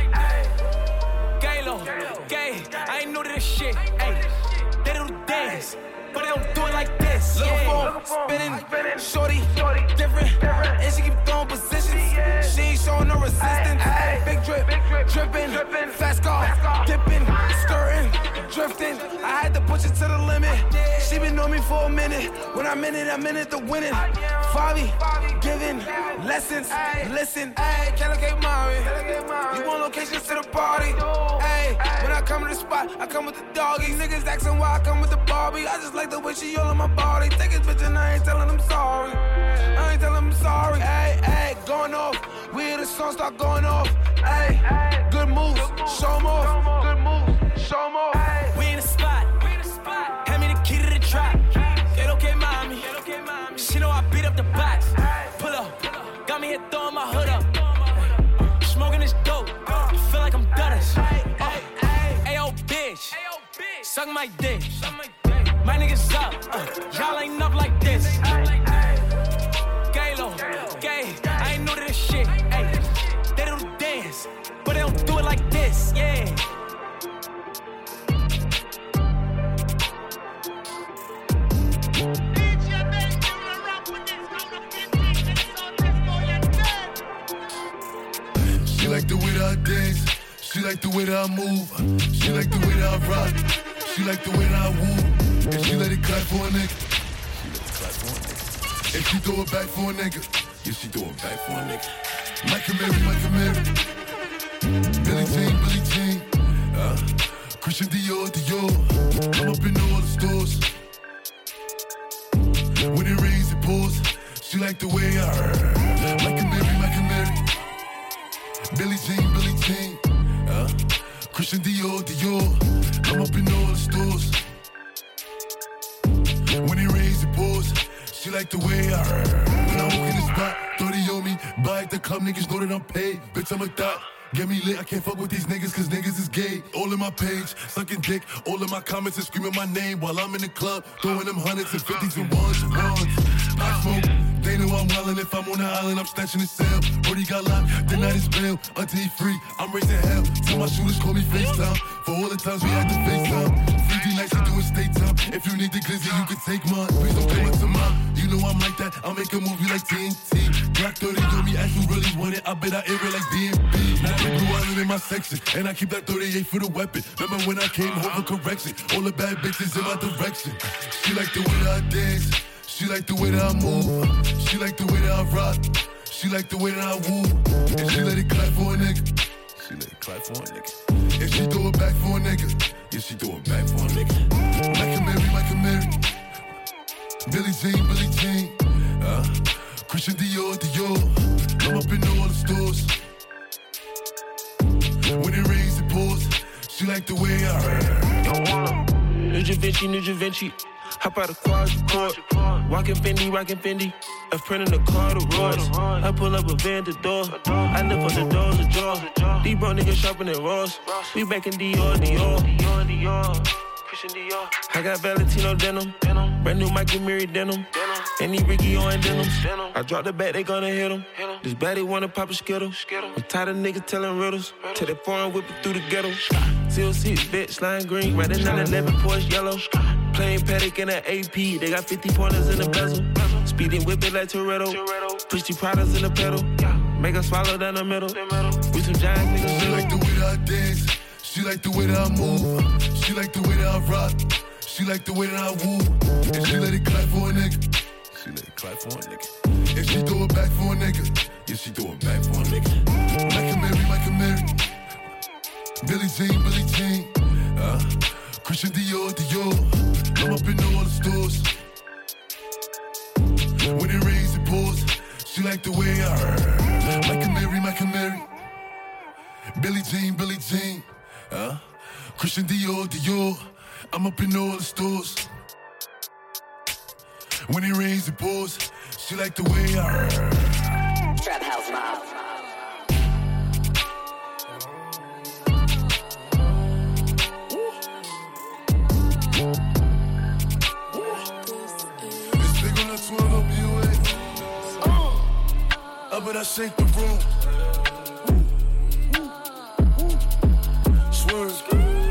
Galo, gay, I ain't new to this shit. Ay, they do the dance, but they don't do it like this. Little Yeah. phone, spinning, shorty, different, and she keep throwing positions. She ain't showing no resistance. Big drip, dripping, fast car, dipping, skirting, drifting. I had to push it to the limit. She been on me for a minute. When I'm in it, I'm in it to win it. Favi, giving lessons, listen. Ay, can I get mommy? You want locations to the party? Ay, when I come to the spot, I come with the doggies. Niggas asking why I come with the Barbie. I just like the way she all on my body. Take his bitch and I ain't telling them sorry. I ain't telling them sorry. Ay, ay, going off. We hear the song start going off. Ay, good moves, show 'em off. Good moves, show 'em off. We in the spot. Hand me the key to the trap. Get okay, mommy. She know I beat up the box. Pull up. Got me here throwing my hood up. Smoking this dope. Feel like I'm Dutters. Uh, Ayo, bitch. Suck my dick. My niggas up. Uh, y'all ain't up like this. Galo, gay. I ain't new to this shit. Ay, they do the dance, but they don't do it like this. Yeah. She like the way that I dance. She like the way that I move. She like the way that I rock. She like the way that I woo. And she let it clap for a nigga. She let it clap for a nigga. And she throw it back for a nigga. Yeah, she throw it back for a nigga. Michael Mary, Michael Mary. Billie Jean, Billie Jean. Uh, Christian Dior, Dior. I'm up in all the stores. When it rains, it pours. She like the way I heard. Michael Mary, Michael Mary. Billie Jean, Billie Jean. Uh, Christian Dior, Dior. I'm up in all the stores. When it rains, it pours. She like the way I heard. When I walk in the spot, thirty on me. Buy at the club, niggas know that I'm paid. Bitch, I'm a thot. Get me lit, I can't fuck with these niggas cause niggas is gay. All in my page, sucking dick. All in my comments and screaming my name while I'm in the club. Throwing them hundreds and fifties and ones and ones. I smoke, they know I'm wildin'. If I'm on the island, I'm snatching the cell. Brody got locked, the night is bail. Until he free, I'm raising hell. Till my shooters call me FaceTime. For all the times we had to FaceTime. Free Tuesday nights, you doing state time. If you need the glizzy, you can take mine. Please don't come up to mine. You know I'm like that. I'll make a movie like T N T. Black thirty on me, as you really want it. I bet I air it like D M B. Now the blue island in my section, and I keep that thirty-eight for the weapon. Remember when I came home for correction? All the bad bitches in my direction. She like the way that I dance. She like the way that I move. She like the way that I rock. She like the way that I woo. And she let it clap for a nigga. She let it clap for a nigga. And she throw it back for a nigga. Yeah, she throw it back for a nigga. Michael Mary, Michael Mary. Billie Jean, Billie Jean. Uh, Christian Dior, Dior. I'm up in all the stores. When it rains, it pours. She like the way I heard. Don't wanna. New Da Vinci, New Da Vinci. Hop out of car, court. Walking Fendi, rocking Fendi. A friend in the car, the Royce. I pull up a van to door. I lift up the doors, the jaw. These bro niggas shopping at Ross. We back in Dior, Dior. Dior, Dior. Christian Dior. I got Valentino denim. Brand new Michael Mary denim. Any Ricky on denim. I drop the bat, they gonna hit him. This baddie wanna pop a skittle. I'm tired of niggas telling riddles. Till they foreign whip it through the ghetto. Seal six, bitch, lime green. Right in nine eleven, Porsche yellow. Plain Patek in an A P. They got fifty pointers in the bezel. Speeding whip it like Toretto. Push the products in the pedal. Make her swallow down the middle. We some giant niggas. She like the way that I dance. She like the way that I move. She like the way that I rock. She like the way that I woo. And she let it clap for a nigga. She let it clap for a nigga. And she throw it back for a nigga. Yeah, she throw it back for a nigga. Michael Mary, Michael Mary. Billie Jean, Billie Jean. Uh, Christian Dior, Dior. I'm up in all the stores. When it rains, it pours. She like the way I heard. Michael Mary, Michael Mary. Billie Jean, Billie Jean. Uh, Christian Dior, Dior. I'm up in all the stores. When it rains, it pours. She like the way I heard. Trap House Mob. It's big on the twelve W A. Uh, I bet I shake the room. Swerve.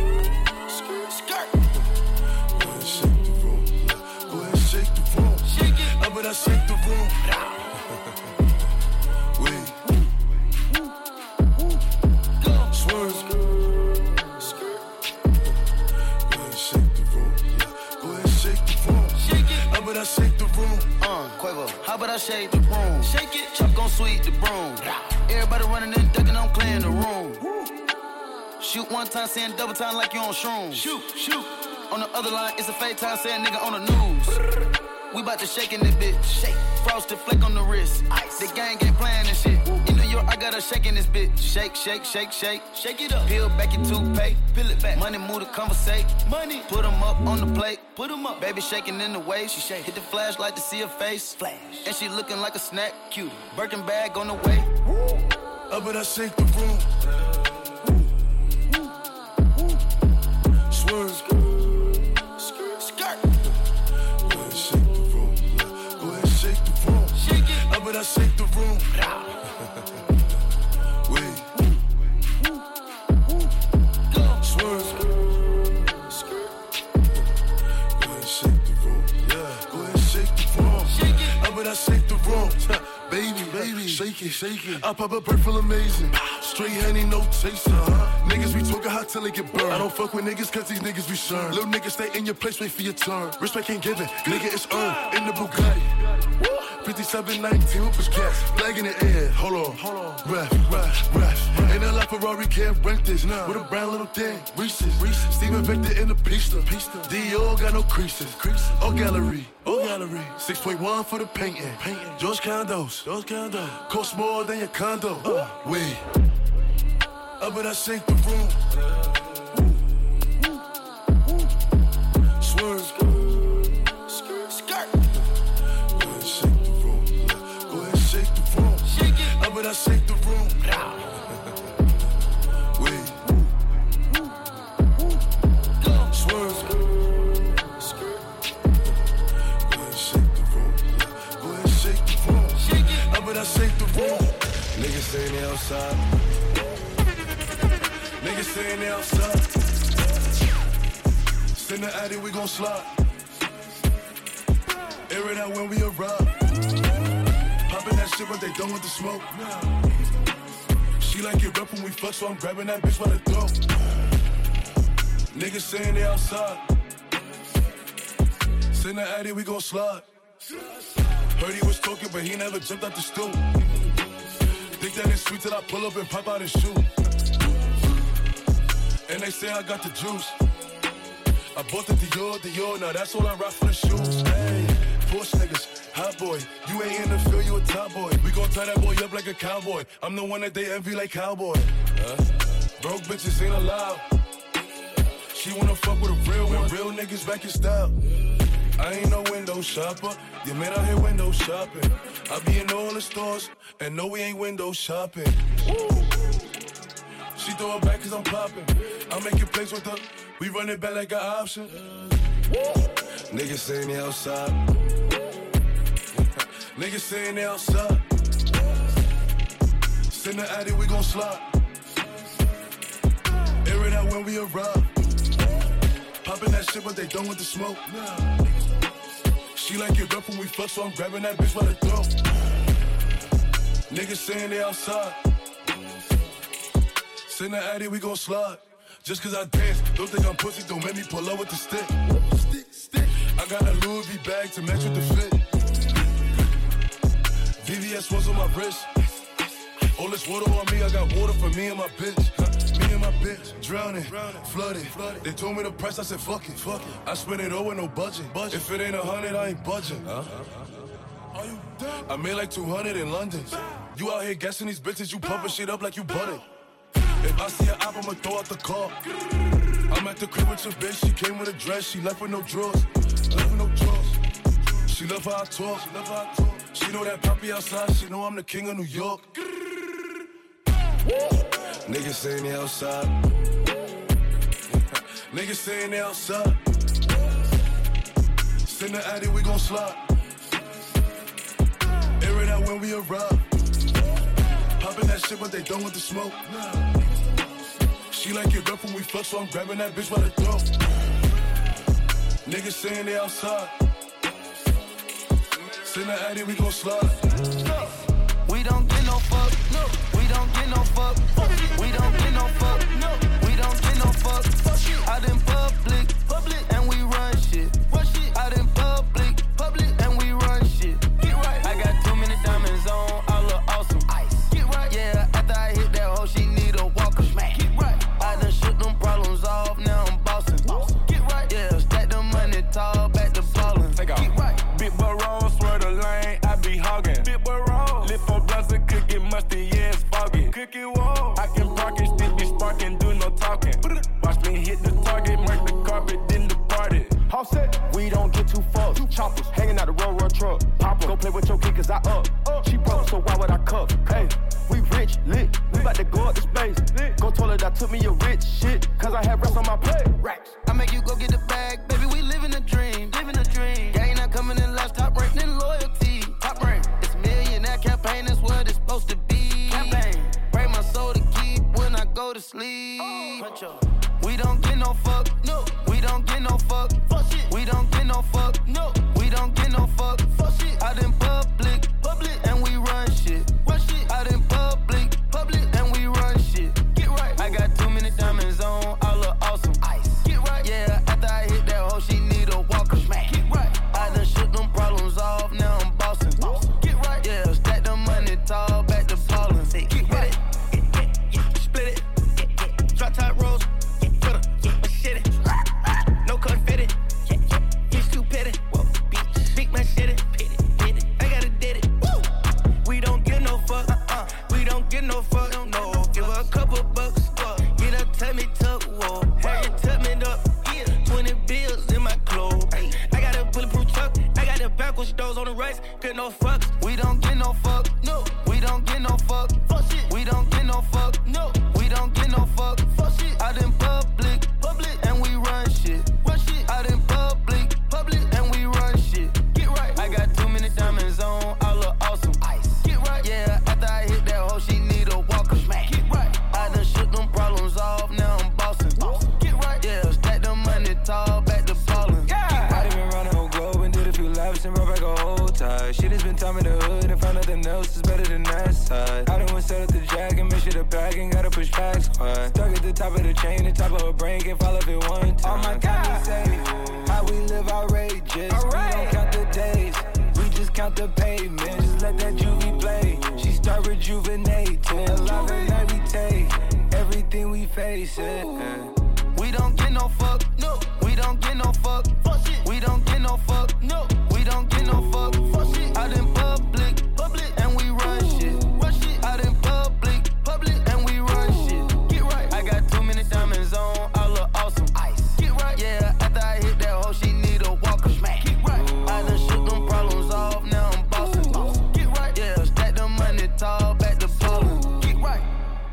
But I shake the room. Wait. Swerve. Go ahead, shake the room. Go ahead, shake the room. Shake it. How about I shake the room? Uh, Quavo. How about I shake the room? Shake it. Chuck gon' sweep the broom. Everybody running and ducking, I'm clearing the room. Shoot one time, saying double time like you on shrooms. Shoot, shoot. On the other line, it's a fake time, saying nigga on the news. We bout to shake in this bitch. Shake. Frosted flake on the wrist. Ice. The gang ain't playing this shit. In New York, I got her shaking this bitch. Shake, shake, shake, shake. Shake it up. Peel back your toothpaste. Peel it back. Money move to conversate. Money. Put them up on the plate. Put them up. Baby shaking in the way. She shake. Hit the flashlight to see her face. Flash. And she looking like a snack. Cute. Birkin bag on the way. I bet I shake the room. Swerve. But I shake the room. Wait. Swerve. Go ahead, shake the room. Yeah. Go ahead, shake the room. Shake it. But I shake the room. Baby, baby, shake it, shake it. I pop a bird feel amazing. Straight honey, no chaser. Uh-huh. Niggas be talking hot till they get burned. I don't fuck with niggas cause these niggas be sure. Little niggas stay in your place, wait for your turn. Respect ain't given, nigga it's earned. In the Bugatti. fifty-seven nineteen with gas, flag in the air. Hold on, hold on. Ref, ref, ref. Ain't a lot Ferrari can't rent this. Nah. With a brown little thing, Reese's. Reese's. Steven Victor in the pista. pista. Dior got no creases. creases. Oh gallery, oh gallery. six point one for the painting. painting. George Condos, George Condos. Cost more than your condo. Uh. Wait. I bet I shake the room. Swerve. But I shake the room. Wait. Swerve. Go ahead, shake the room. Go ahead, shake the room. Shake it. But I shake the room. Niggas saying they outside. Niggas saying they outside. Send the addy, we gon' slide. Air it out when we arrive. Poppin' that shit, but they done with the smoke. She like it rough when we fuck, so I'm grabbing that bitch by the throat. Niggas saying they outside. Send the addy, we gon' slide. Heard he was talking, but he never jumped out the stool. Think that it's sweet till I pull up and pop out and shoot. And they say I got the juice. I bought the Dior, Dior, now that's all I rock for the shoes. Hey, Porsche niggas, hot boy. You ain't in the field, you a top boy. We gon' tie that boy up like a cowboy. I'm the one that they envy like cowboy. Huh? Broke bitches ain't allowed. She wanna fuck with a real one. Real niggas back in style. I ain't no window shopper. You man out here window shopping. I be in all the stores, and no, we ain't window shopping. Woo. She throw it back cause I'm popping. I'm making plays with her. We run it back like an option. Woo. Niggas saying they outside. Niggas saying they outside. Send the addy, we gon' slide. Air it out when we arrive. Poppin' that shit, but they done with the smoke. She like it rough when we fuck, so I'm grabbing that bitch by the throat. Niggas saying they outside. Send the addy, we gon' slide. Just cause I dance, don't think I'm pussy, don't make me pull up with the stick. Stick, stick. I got a Louis V bag to match with the fit. V V S ones on my wrist. All this water on me, I got water for me and my bitch. Me and my bitch, drowning, flooded. They told me the price, I said fuck it. Fuck it. I spent it all with no budget. If it ain't a hundred, I ain't budging. Huh? Are you dumb? I made like two hundred in London. You out here guessing these bitches, you pumping shit up like you butted. If I see her up, I'ma throw out the car. I'm at the crib with your bitch, she came with a dress, she left with no drawers. Left with no drawers. She love how I talk, she love how I talk. She know that poppy outside, she know I'm the king of New York. Niggas saying they outside. Niggas saying they outside. Send the addy, we gon' slide. Air it out when we arrive. Poppin' that shit, but they done with the smoke. She like it rough when we fuck, so I'm grabbing that bitch by the throat. Niggas saying they outside. Send the addy, we gon' slide. We don't get no fuck. No. We don't get no fuck. We don't get no fuck. No. We don't get no fuck. Out in public, public, and we run shit. Run shit. Out in public, public, and we run shit. Get right. I got too many diamonds on, I look awesome. Ice. Get right. Yeah, after I hit that hoe, she need a walker. Smack. Get right. I done shook them problems off, now I'm bossing. Get right. Yeah, stack the money tall, back to ballin'. Take off. Get right. Big boy roll, swear the lane, I be hogging. Big boy roll, lift for blunts and cook it musty, yeah, it's foggy. Cook it wall. I can park it, still be sparking, do no talking. Watch me hit the target, mark the carpet, then depart it. All set, we don't get too fucked. Choppers hanging out the road, road truck. Pop go play with your kid, cause I up. up. She broke, so why would I cup? Hey, we rich, lit. We bout to go up the space. Lit. Go toilet, I took me a rich shit, cause I had rest on my plate. Racks. I make you go get the bag, baby, we living a dream. Living a dream. Gang not coming in last, top rank, then loyalty. Top rank. It's a millionaire campaign, that's what it's supposed to be. Campaign. Pray my soul to keep when I go to sleep. Oh. We don't get no fuck, no. We don't get no fuck, fuck shit. We don't get no fuck, no. We don't get no fuck, fuck shit. Out in public, public, and we run shit. Run shit. Out in public, public, and we run shit. Get right. I got too many diamonds on, I look awesome. Ice. Get right. Yeah, after I hit that hoe, she need a walker. Smack. Get right. I done shook them problems off, now I'm bossing. Get right. Yeah, stack the money tall, back to ballin'. Get right. Split it. Drop top rolls. No confetti, he's too petty. Big man shitty, side. She done spent time in the hood and found nothing else is better than that side. I done went set up the jack and make sure the bag ain't gotta push back squad. Stuck at the top of the chain, the top of her brain, can't fall off it one time. Oh my God, say how we live outrageous. Right. We don't count the days, we just count the pavement. Just let that juvie play. She start rejuvenating, alive and meditate. Everything we face it. We don't get no fuck, no. We don't get no fuck, fuck shit. We don't get no fuck, no. We don't get no fuck, fuck shit. Out in public, public, and we run shit. Run shit. Out in public, public, and we run shit. Get right. I got too many diamonds on, I look awesome. Ice. Get right. Yeah, after I hit that hoe, she need a walker. Smack. Get right. Ooh. I done shook them problems off, now I'm bossing. Boss. Get right. Yeah, stack the money tall, back to ballin'. Get right.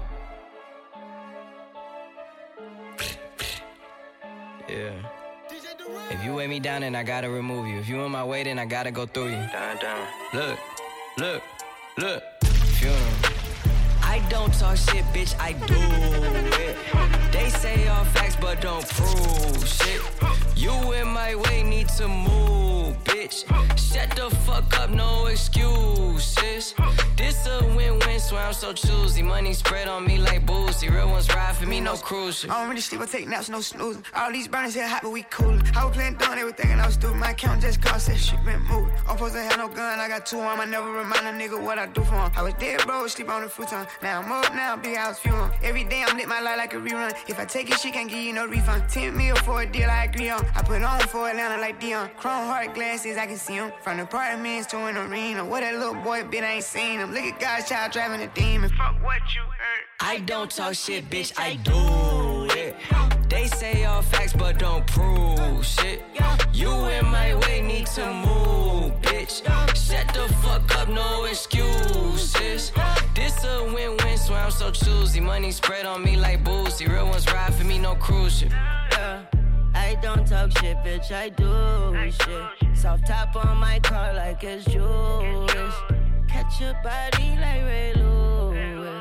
Yeah. If you weigh me down, then I gotta remove you. If you in my way, then I gotta go through you. Down, down. Look, look, look. Funeral. I don't talk shit, bitch, I do it. They say all facts, but don't prove shit. You in my way, need to move, bitch. Shut the fuck up, no excuses. This a win-win, swear I'm so choosy. Money spread on me like boozy. Real ones ride for me, no cruise shit. I don't really sleep, I take naps, no snoozing. All these burners here hot, but we coolin'. I was playing dumb, they were thinking I was stupid. My account just cost that shit been moved. I'm supposed to have no gun, I got two on. I never remind a nigga what I do for him. I was dead, bro, sleep on the futon. Now I'm up, now big house funeral. Every day I'm lit my life like a rerun. If I take it, she can't give you no refund. ten mil for a deal I agree on. I put on for Atlanta like Dion. Chrome heart glasses, I can see him. From the apartments to an arena. What that little boy bit, I ain't seen him. Look at God's child driving a demon. Fuck what you heard. I don't talk shit, bitch, I do it. They say all facts, but don't prove shit. You in my way, need to move, bitch. Shut the fuck up, no excuses. This a win-win, swear I'm so choosy. Money spread on me like boozy. Real ones ride for me, no cruise shit. Yeah. I don't talk shit, bitch, I do shit. Soft top on my car like it's Jewish. Catch your body like Ray Lewis.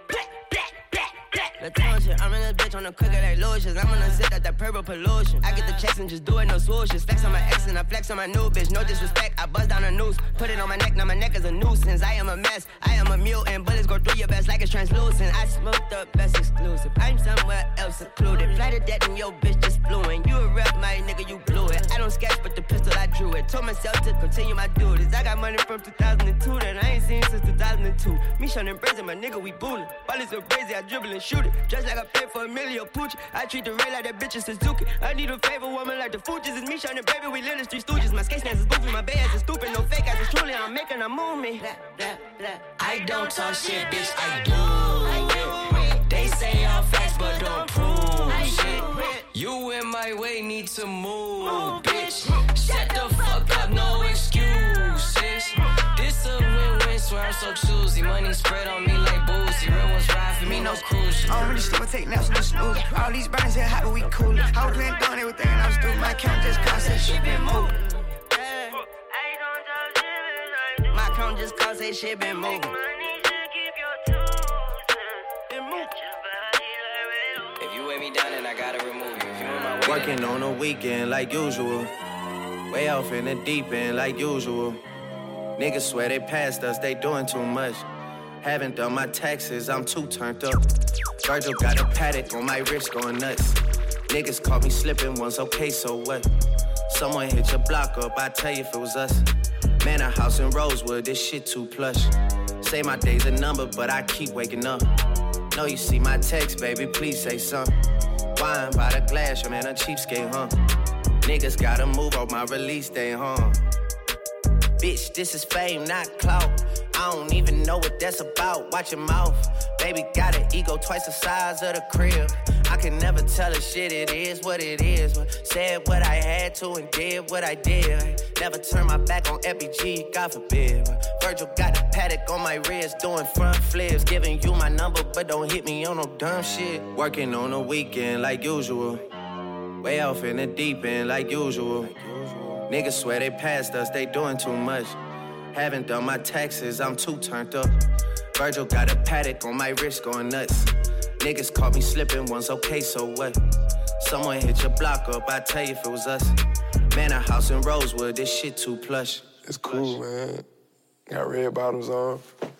The tone shit, I'm in this bitch on the cooker like lotions. I'm gonna zip out that purple pollution. I get the checks and just do it, no swooshes. Flex on my ex and I flex on my new bitch. No disrespect, I buzz down a noose. Put it on my neck, now my neck is a nuisance. I am a mess, I am a mutant. Bullets go through your vest like it's translucent. I smoked the best exclusive. I'm somewhere else secluded. Fly to death and your bitch just flew in. You a rep, my nigga, you blew it. I don't sketch, but the pistol I drew it. Told myself to continue my duties. I got money from two thousand two that I ain't seen since two thousand two. Me shun and brazen, my nigga, we bullin'. Ballin' so crazy, I dribble and shoot it. Just like I pay for Emilio Pucci. I treat the Ray like that bitch is Suzuki. I need a favor woman like the Fugees. It's me shining, baby, we live the street stooges. My skate stance is goofy, my bay ass is stupid. No fake ass is truly, I'm making a move me. Blah, blah, blah. I don't talk shit, bitch, I do it. They say all facts, but don't prove shit. You in my way, need to move, bitch. Shut the fuck up, no excuses. This a win-win, swear I'm so choosy. Money spread on me like boozy. Real ones ride for me, no cruise shit. I don't really sleep, I take naps, no snooze. All these burners here hot, but we coolin'. I was playing dumb, they were thinking I was stupid. My account just cost that shit been moved. My account just cost that shit been moving. If you weigh me down, then I gotta remove you. If you in my way, working on a weekend like usual. Way off in the deep end like usual. Niggas swear they passed us, they doing too much. Haven't done my taxes, I'm too turned up. Virgil got a paddock on my wrist going nuts. Niggas caught me slipping once, okay, so what? Someone hit your block up, I tell you if it was us. Man, a house in Rosewood, this shit too plush. Say my day's a number, but I keep waking up. Know you see my text, baby, please say something. Wine by the glass, your man a cheapskate, huh? Niggas gotta move on my release day, huh? Bitch, this is fame, not clout. I don't even know what that's about. Watch your mouth. Baby got an ego twice the size of the crib. I can never tell a shit, it is what it is. But said what I had to and did what I did. Never turn my back on F B G, God forbid. Virgil got a paddock on my wrist, doing front flips. Giving you my number, but don't hit me on no dumb shit. Working on a weekend like usual. Way off in the deep end like usual. Niggas swear they passed us, they doing too much. Haven't done my taxes, I'm too turned up. Virgil got a paddock on my wrist going nuts. Niggas caught me slipping once, okay, so what? Someone hit your block up, I tell you if it was us. Man, a house in Rosewood, this shit too plush. It's cool, man. Got red bottoms on.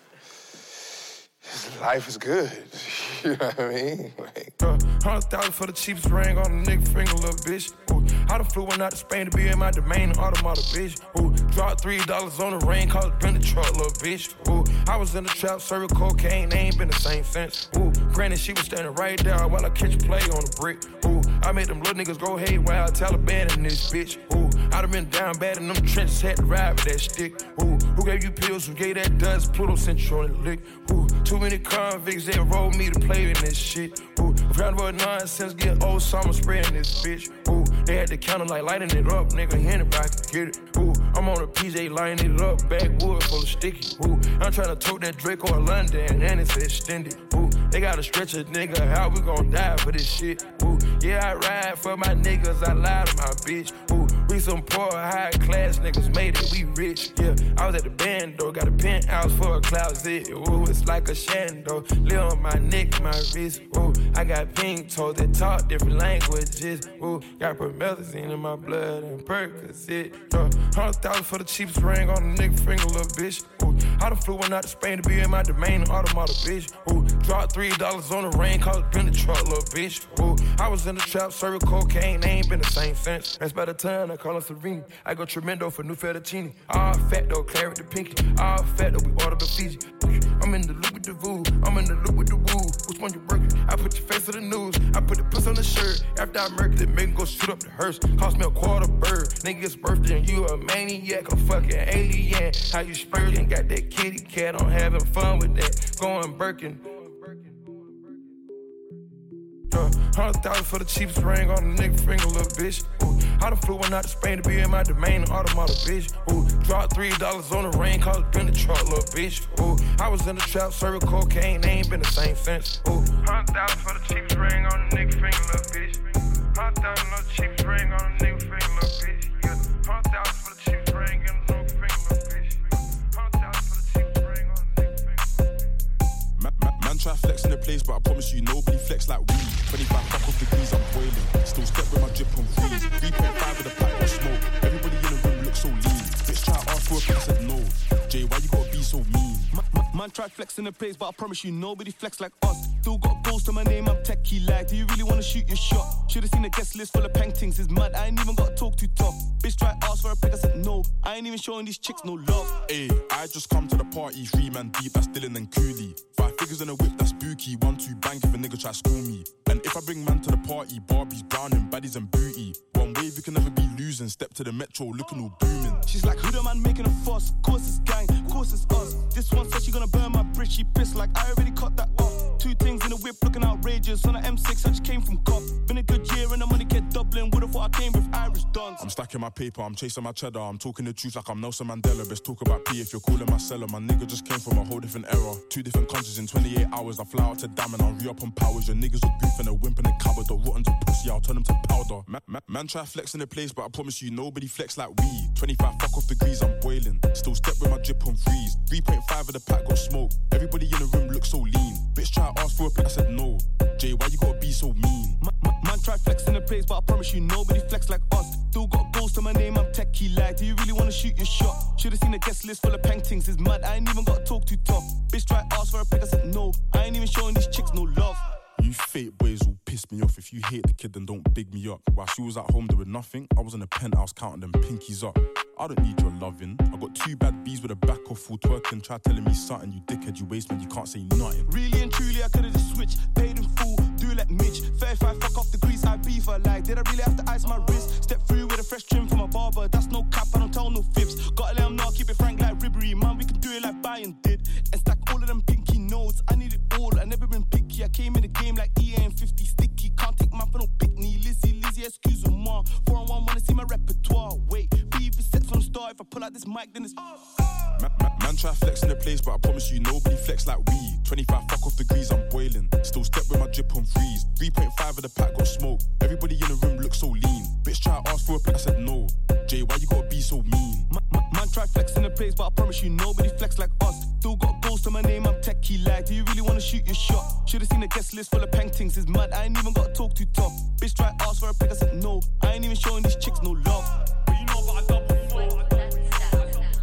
Life is good. You know what I mean? Like, uh, Hundred thousand for the cheapest ring on a nigga finger, little bitch. Ooh, I done flew one out to Spain to be in my domain, automata, bitch. Ooh, dropped three dollars on the ring, called it been the truck, little bitch. Ooh, I was in the trap, serving cocaine, they ain't been the same since. Ooh, granted, she was standing right there while I catch a play on the brick. Ooh, I made them little niggas go haywire, Taliban in this bitch. Ooh, I done been down bad in them trenches, had to ride with that stick. Ooh, who gave you pills, who gave that dust, Pluto sent you on the lick. Ooh, too many convicts, they enrolled me to play in this shit. Ooh, round about nonsense, get old summer spraying this bitch. Ooh, they had the counter like lighting it up, nigga, anybody can get it. Ooh, I'm on a P J lining it up, backwood full of sticky. Ooh, I'm tryna tote that Draco in London, and it's extended. Ooh, they gotta stretch a nigga out, we gon' die for this shit. Ooh, yeah, I ride for my niggas, I lie to my bitch. Ooh, we some poor, high class niggas made it, we rich. Yeah, I was at the band though, got a penthouse for a closet. Ooh, it's like a shando, live on my neck, my wrist. Ooh, I got pink toes that talk different languages. Ooh, got promethazine in my blood and Percocet. Uh, Hundred thousand for the cheapest ring on a nigga finger, little bitch. Ooh, I done flew one out to Spain to be in my domain, automata, bitch. Ooh, dropped three dollars on the ring, called it been the truck, little bitch. Ooh, I was in the trap, serving cocaine, they ain't been the same since. That's by the time I call her Serene. I go tremendo for new fettuccine. All fat though, claret the pinky. All fat though, we order the Fiji. I'm in the loop with the voo, I'm in the loop with the woo. Which one you working? I put your face on the news. I put the puss on the shirt. After I murdered it, make go shoot up the hearse. Cost me a quarter bird. Nigga's birthday and you a maniac, a fucking alien. How you spurting? Got that kitty cat, I'm having fun with that. Going Birkin. Uh, Hundred thousand for the cheapest ring on a nigga finger, little bitch. Ooh, I done flew one out to Spain to be in my domain, automata, bitch. Ooh, dropped three dollars on the ring, called it been the truck, little bitch. Ooh, I was in the trap, serving cocaine, they ain't been the same since. Ooh, hundred thousand for the cheapest ring on a nigga finger, little bitch. Hundred thousand for the cheapest ring on a nigga finger, little bitch. Yeah, hundred thousand for the cheapest ring on a nigga finger, little bitch. Hundred thousand for the cheapest ring on a nigga finger. Man, man, man try flex in the place, but I promise you nobody flex like we. twenty-five fuck off degrees, I'm boiling. Still step with my drip on freeze. three point five with a pack of smoke. Everybody in the room looks so lean. Bitch try to ask for a pick, I said no. Jay, why you gotta be so mean? Man, man, man try flex in the place, but I promise you nobody flex like us. Still got goals to my name, I'm techie like. Do you really wanna shoot your shot? Should've seen a guest list full of paintings. It's mad, I ain't even gotta talk too tough. Bitch try to ask for a pick, I said no. I ain't even showing these chicks no love. Ayy, I just come to the party, three man deep, that's Dylan and Cooley. Five figures in a whip, that's spooky. One, two, bang if a nigga try to school me. And if I bring man to the party, Barbies, Browning, baddies and booty. One wave, you can never be losing. Step to the metro, looking all booming. She's like, who the man making a fuss? Course it's gang, course it's us. This one said she gonna burn my bridge, she pissed like I already cut that off. Two things in the whip looking outrageous. On the M six, I just came from cop. Been a good year and the money kept doubling. Would've thought I came with Irish dons. I'm stacking my paper, I'm chasing my cheddar. I'm talking the truth like I'm Nelson Mandela. Best talk about P if you're calling my seller. My nigga just came from a whole different era. Two different countries in twenty-eight hours. I fly out to Dam and I'll re-up on powers. Your niggas are goof and a wimp and a cupboard. The rotten to pussy, I'll turn them to powder. Man, man, man try flex in the place, but I promise you nobody flex like we. twenty-five fuck off degrees, I'm boiling. Still step with my drip on freeze. three point five of the pack got smoke. Everybody in the room looks so lean. Bitch try to ask for a pick, I said no. Jay, why you gotta be so mean? Man, man, man try flex in the place, but I promise you nobody flex like us. Still got goals to my name, I'm techie like. Do you really wanna shoot your shot? Should've seen a guest list full of paintings. It's mad, I ain't even gotta talk too tough. Bitch try to ask for a pick, I said no. I ain't even showing these chicks no love. You fake boys will piss me off. If you hate the kid, then don't big me up. While she was at home doing nothing, I was in the penthouse counting them pinkies up. I don't need your loving. I got two bad bees with a back off full twerking. Try telling me something, you dickhead, you waste man, you can't say nothing. Really and truly, I could've just switched. Paid in full, do it like Mitch. thirty-five, fuck off the grease, I beef her like. Did I really have to ice my wrist? Step through with a fresh trim from a barber. That's no cap, I don't tell no fibs. Gotta let them know, keep it frank like Ribbery. Man, we can do it like Bayern did. And stack all of them pinky notes. I need it all, I never been picky. I came in the game like E A and fifty sticky. Can't take my for no pickney. Lizzie, Lizzie, excuse me, ma. four on one, wanna see my repertoire. Wait, be even set from the start. If I pull out this mic, then it's Man, man, man try flex in the place, but I promise you nobody flex like we. twenty-five fuck off degrees, I'm boiling. Still step with my drip on freeze. three point five of the pack got smoke. Everybody in the room looks so lean. Bitch try to ask for a pick, I said no. Jay, why you gotta be so mean? Man, man, man try flex in the place, but I promise you nobody flex like us. Still got goals to my name, I'm techie like. Do you really wanna shoot your shot? Should've seen a guest list full of paintings. It's mad, I ain't even gotta talk too tough. Bitch try to ask for a pick, I said no. I ain't even showing these chicks no love. But you know what I done before.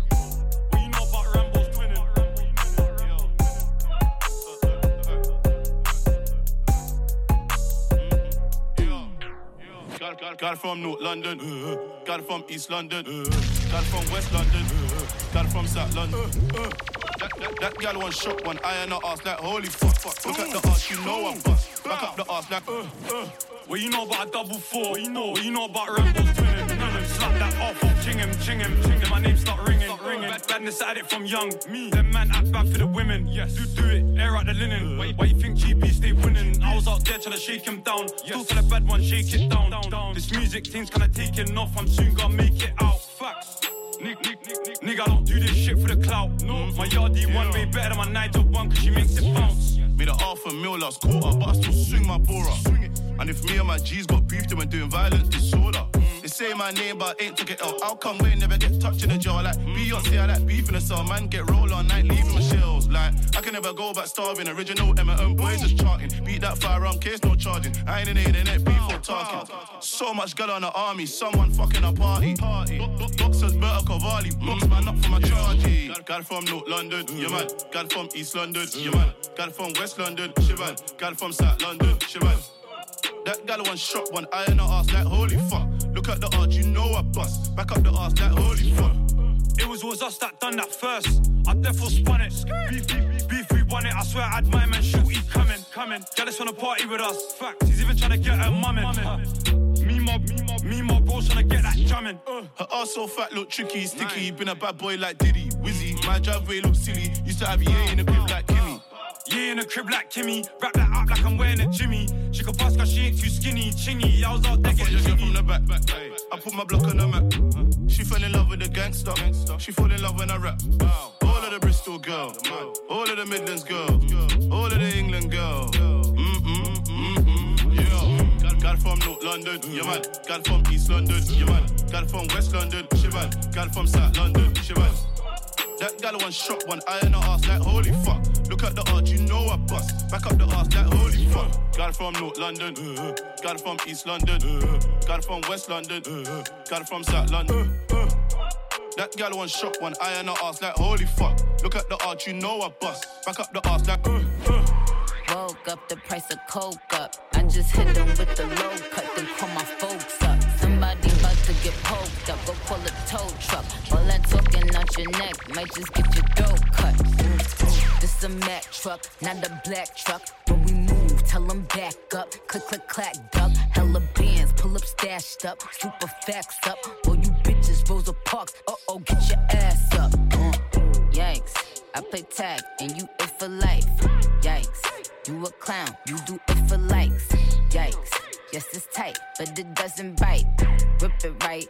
Gal, gal from North London, uh, gal from East London, uh, gal from West London, uh, gal from South London. Uh, uh. That, that, that gal one shot, one eye in her ass like holy fuck, fuck. Look at the ass, you know I bust. Back up the ass like uh, uh. What you know about a double four? What you know? What you know about Rambo's twinning? Twinning, slap that off, ching him, ching him, ching him. My name start ringing, start ringing. Bad, badness at it from young. Me, them man act bad for the women. Yes, do do it, air out the linen. Why, why you think G P stay winning? I was out there trying to shake him down. Yes. Still for the bad one, shake it down. down, down. This music thing's kinda taking off. I'm soon gonna make it out. Facts. Nick, Nick, Nick, Nick. Nigga, I don't do this shit for the clout. No, my yardie yeah. one way better than my Nigel one, cause she makes it bounce. Made a half a mil last quarter, but I still swing my bora. And if me and my G's got beef, then we're doing violent disorder. They say my name, but ain't took it out. How come we never get touched in the jaw? Like Beyonce, I like beef in the cell. Man, get roll all night, leaving my shells. Like, I can never go back starving. Original M and M boys just charting. Beat that firearm case, no charging. I ain't in the internet, beef or talking. So much girl on the army, someone fucking a party. Boxers, Berta Cavalli, box man up for my chargy. Gal from North London, yeah man. Gal from East London, yeah man. Gal from West London, she man. Gal from South London, she man. That gal one shot, one eye in her ass like holy fuck. Look at the arch, you know I bust. Back up the ass like holy fuck. It was, was us that done that first. I therefore spun it. Beef, beef, beef, we won it. I swear I had my man shorty coming, coming. Jealous wanna party with us. Fact, he's even trying to get her mum in. Uh, me mob, me mob, me mob, bros trying to get that jamming. Uh. Her ass so fat, look tricky, sticky. Been a bad boy like Diddy, Wizzy. My driveway look silly. Used to have yeah in the crib like Kimmy. Yeah, in a crib like Kimmy. Wrap that up like I'm wearing a Jimmy. She can pass cause she ain't too skinny. Chingy, I was out there getting jiggy. From the back, back, back. I put my block on the map. Uh, she fell in love with the gangster. gangster. She fall in love when I rap. Wow. All of the Bristol girl. All of the Midlands girl. All of the England girl. Mm-mm, mm-mm, yeah. Gal, gal from North London, yeah man. Gal from East London, yeah man. Gal from West London, she man. Gal from South London, she man. That gal one shot, one eye in her ass like holy fuck. Look at the arch, you know I bust. Back up the ass like holy fuck. Gal from North London, uh, gal from East London, uh, gal from West London, uh, gal from South London. Uh, uh. That gal one shot, one eye in her ass like holy fuck. Look at the arch, you know I bust. Back up the ass like uh, uh. Woke up, the price of coke up. I just hit them with the low cut, then call my folks up. Somebody about to get poked up, go call a tow truck. All that talking out your neck might just get your throat cut. This a Mack truck, not a black truck. When we move, tell them back up. Click, click, clack, duck. Hella bands, pull up, stashed up. Super facts up. All you bitches, Rosa Parks. Uh-oh, get your ass up. Uh, yikes, I play tag and you it for life. Yikes, you a clown, you do it for likes. Yikes, yes it's tight, but it doesn't bite. Rip it right,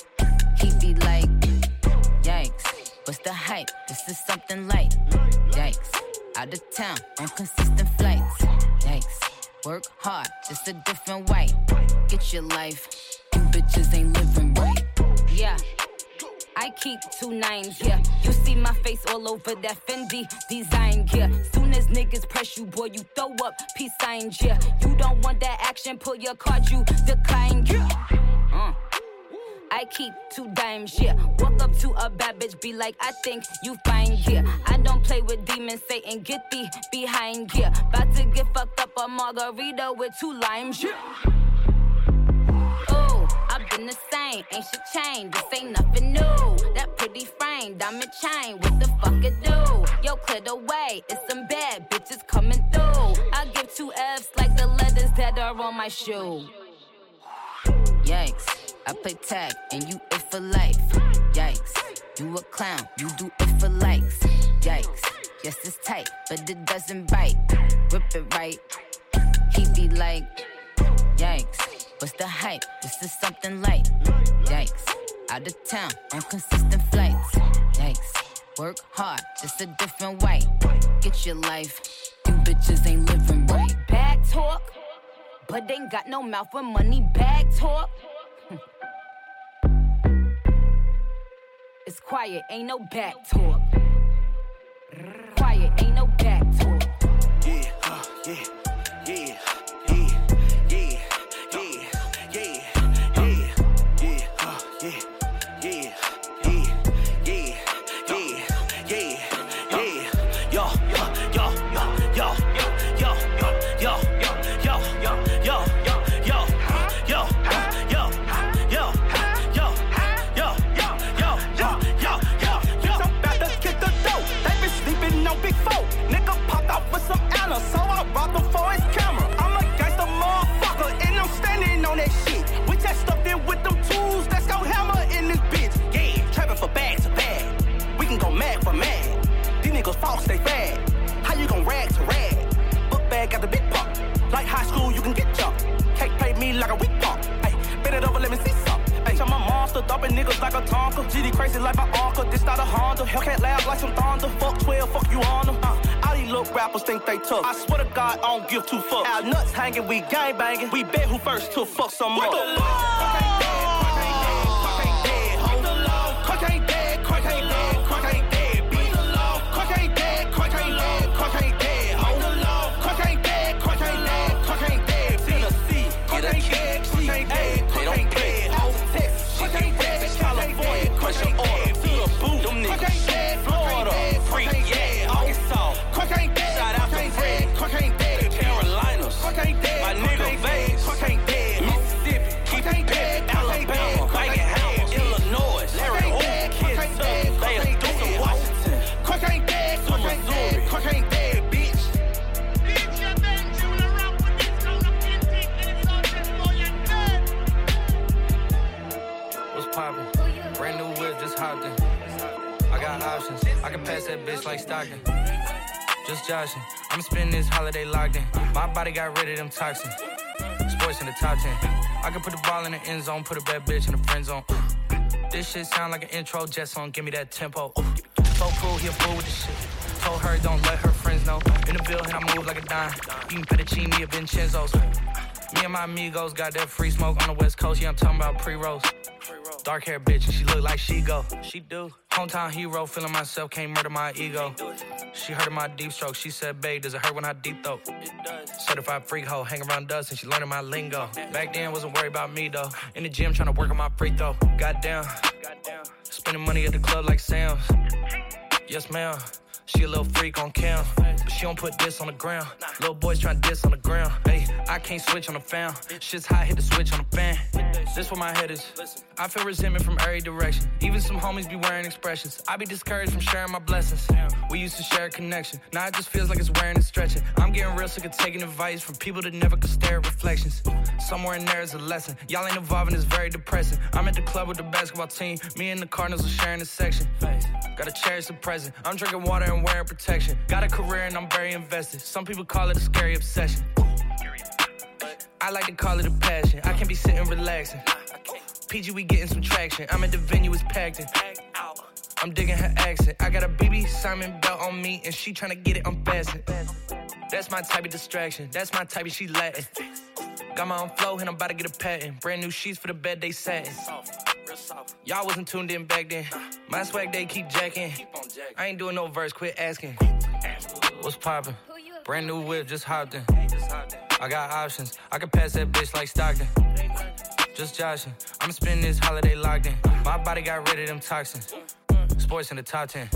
he be like, yikes, what's the hype? This is something light. Yikes, out of town on consistent flights. Yikes, work hard, just a different white. Get your life, you bitches ain't living right. Yeah, I keep two nines, yeah. You see my face all over that Fendi design, yeah. Soon as niggas press you, boy, you throw up peace signs, yeah. You don't want that action, pull your card, you decline, yeah. Uh. I keep two dimes, yeah. Walk up to a bad bitch, be like, I think you fine, yeah. I don't play with demons, Satan, get thee behind, yeah. About to get fucked up a margarita with two limes, yeah. Ooh, I've been the same, ain't shit changed, this ain't nothing new. That pretty frame, diamond chain, what the fuck it do? Yo, clear the way, it's some bad bitches coming through. I give two F's like the letters that are on my shoe. Yikes, I play tag and you it for life. Yikes, you a clown, you do it for likes. Yikes, yes it's tight, but it doesn't bite. Rip it right, he be like, yikes, what's the hype? This is something light. Yikes, out of town on consistent flights. Yikes, work hard, just a different white. Get your life, you bitches ain't living right. Bag talk, but ain't got no mouth when money bag talk. It's quiet, ain't no back talk. Quiet, ain't no back talk. Yeah, uh, yeah, yeah, yeah, yeah, yeah, yeah, yeah, yeah, uh, yeah, yeah, yeah, yeah, yeah, yeah, yeah. Yo, yo, yo, yo, yo, yo, yo, yo, yo, yo, yo, yo, yo, yo, yo, bend it over, let me see some. Bitch, I'm a monster, dumping niggas like a Tonka. G D crazy like my Arca, this not a Honda. Hellcat laugh like some thunder. Fuck twelve, fuck you on them. Uh, all these little rappers think they tough. I swear to God, I don't give two fucks. Our nuts hanging, we gang banging. We bet who first to fuck some more. What the fuck? I can pass that bitch like Stockton. Just joshing. I'm spending this holiday locked in. My body got rid of them toxins. Sports in the top ten. I can put the ball in the end zone, put a bad bitch in the friend zone. This shit sound like an intro jet song. Give me that tempo. So cool, he a fool with the shit. Told her don't let her friends know. In the building, I move like a dime. Eating fettuccine or Vincenzo's. Me and my amigos got that free smoke on the West Coast. Yeah, I'm talking about pre-rolls. Dark hair bitch, and she look like she go. She do. Hometown hero, feeling myself, can't murder my ego. She heard of my deep stroke. She said, babe, does it hurt when I deep throat? It does. Certified freak hoe, hang around dust, and she learning my lingo. Back then, wasn't worried about me though. In the gym, trying to work on my free throw. Goddamn. Spending money at the club like Sam's. Yes, ma'am. She a little freak on cam, but she don't put this on the ground. Little boys tryna diss on the ground. Hey, I can't switch on the fan. Shit's hot, hit the switch on the fan. This where my head is. I feel resentment from every direction. Even some homies be wearing expressions. I be discouraged from sharing my blessings. We used to share a connection. Now it just feels like it's wearing and stretching. I'm getting real sick of taking advice from people that never could stare at reflections. Somewhere in there is a lesson. Y'all ain't evolving, it's very depressing. I'm at the club with the basketball team. Me and the Cardinals are sharing a section. Gotta cherish the present. I'm drinking water and wearing protection. Got a career and I'm very invested. Some people call it a scary obsession. I like to call it a passion. I can be sitting relaxing. P G, we getting some traction. I'm at the venue, it's packed in. I'm digging her accent. I got a B B Simon belt on me and she tryna get it unfastened. That's my type of distraction. That's my type of she Latin. Got my own flow and I'm about to get a patent. Brand new sheets for the bed they satin. Y'all wasn't tuned in back then. My swag they keep jacking. I ain't doing no verse, quit asking. What's poppin'? Brand new whip, just hopped in. I got options. I can pass that bitch like Stockton. Just joshing. I'm spending this holiday locked in. My body got rid of them toxins. Sports in the top ten.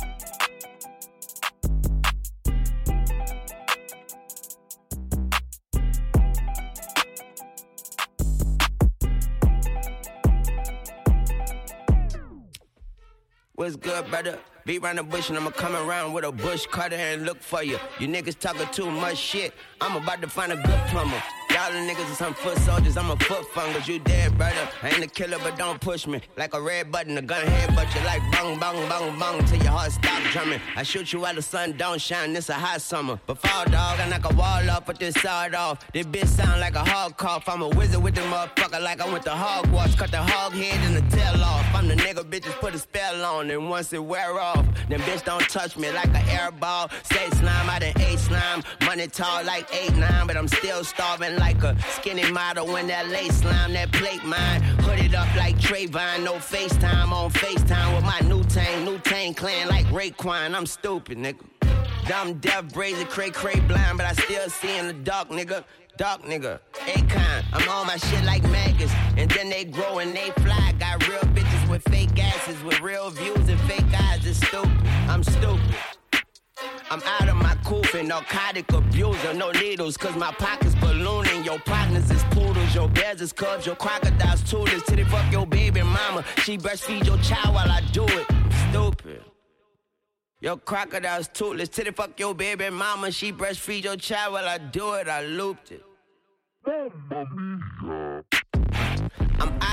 What's good, brother? Be round the bush and I'ma come around with a bush cutter and look for you. You niggas talking too much shit. I'm about to find a good plumber. Y'all the niggas are some foot soldiers, I'm a foot fungus. You dead, brother. I ain't a killer, but don't push me. Like a red button, a gun head, but you like bang, bang, bang, bang till your heart stop drumming. I shoot you while the sun don't shine, this a hot summer. But fall dog, I knock a wall off, put this sawed off. This bitch sound like a hog cough. I'm a wizard with the motherfucker like I went to Hogwarts. Cut the hog head and the tail off. I'm the nigga bitches put a spell on, and once it wear off, then bitch don't touch me like an air ball. Say slime, I done ate slime. Money tall like eight nine, but I'm still starving like a skinny model when that lace slime, that plate mine. Hooded up like Trayvon, no FaceTime on FaceTime with my new tang, new tang clan like Raekwon. I'm stupid, nigga. Dumb, deaf, brazy, cray, cray, blind, but I still see in the dark, nigga. Dark nigga, Akon. I'm on my shit like maggots, and then they grow and they fly. Got real bitches with fake asses, with real views and fake eyes. It's stupid. I'm stupid. I'm out of my cooping, narcotic abuser, no needles, cause my pockets ballooning. Your partners is poodles, your bears is cubs, your crocodiles toothless. Till they fuck your baby mama, she breastfeed your child while I do it. I'm stupid. Your crocodile's toothless, till they fuck your baby mama, she breastfeed your child while I do it. I looped it. I'm out of my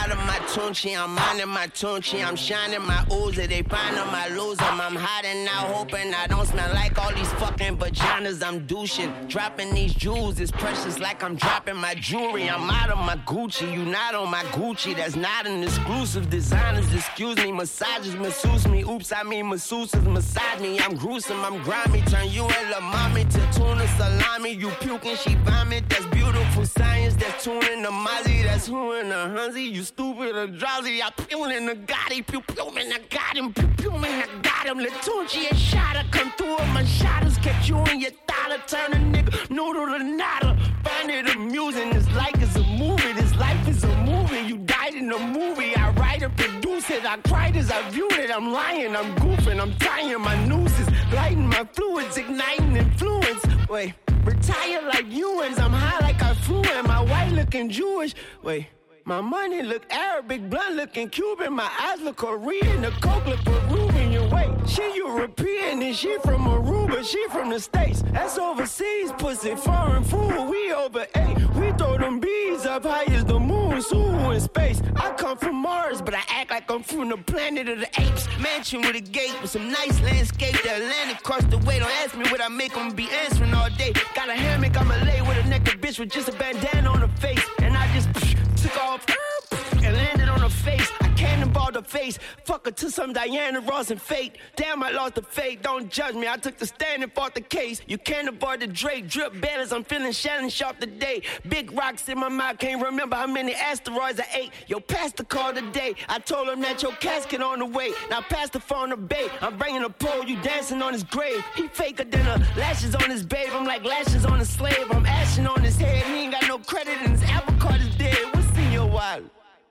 Tunchi, I'm minding my Tunchi, I'm shining my Uzi. They find them, I lose them. I'm hiding out, hoping I don't smell like all these fucking vaginas. I'm douching, dropping these jewels. It's precious like I'm dropping my jewelry. I'm out of my Gucci, you not on my Gucci. That's not an exclusive. Designers, excuse me, massages, masseuse me. Oops, I mean masseuses, massage me. I'm gruesome, I'm grimy. Turn you and La Mommy to tuna salami. You puking, she vomit. That's beautiful science. That's tuning the Mozzie. That's who in the Hunzy. You stupid or drowsy. I pew in the Gotti. Pew pew and I got him. Pew pew and I got him. Latunchi and Shada come through with my shadows. Catch you in your dollar. Turn a nigga noodle to nada. Find it amusing. This life is a movie. This life is a movie. You died in a movie. I write and produce it. I cried as I viewed it. I'm lying. I'm goofing. I'm tying my nooses. Lighting my fluids. Igniting influence. Wait. Retire like Ewans. I'm high like I flew in. My white looking Jewish. Wait. My money look Arabic, blunt looking Cuban. My eyes look Korean, the coke look Peruvian. You wait, she European and she from Aruba, she from the States. That's overseas, pussy, foreign food. We over eight, we throw them bees up high as the moon. Sue in space. I come from Mars, but I act like I'm from the planet of the apes. Mansion with a gate with some nice landscape. The Atlantic across the way. Don't ask me what I make them be answering all day. Got a hammock, I'ma lay with a naked bitch with just a bandana on her face, and I just psh, took off and landed on her face. I cannonballed her face. Fuck her to some Diana Ross and Fate. Damn, I lost the fate. Don't judge me. I took the stand and fought the case. You cannonball the Drake. Drip banners. I'm feeling Shannon Sharp today. Big rocks in my mouth. Can't remember how many asteroids I ate. Yo, pastor called today. I told him that your casket on the way. Now pass the phone to babe. I'm bringing a pole. You dancing on his grave. He faker than a lashes on his babe. I'm like lashes on a slave. I'm ashing on his head. He ain't got no credit and his apple card is dead. What's in your wallet?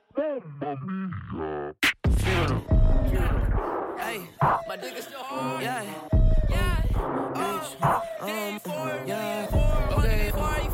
Hey, my dick is still hard. Yeah. Yeah. Bitch. Um, yeah. Okay.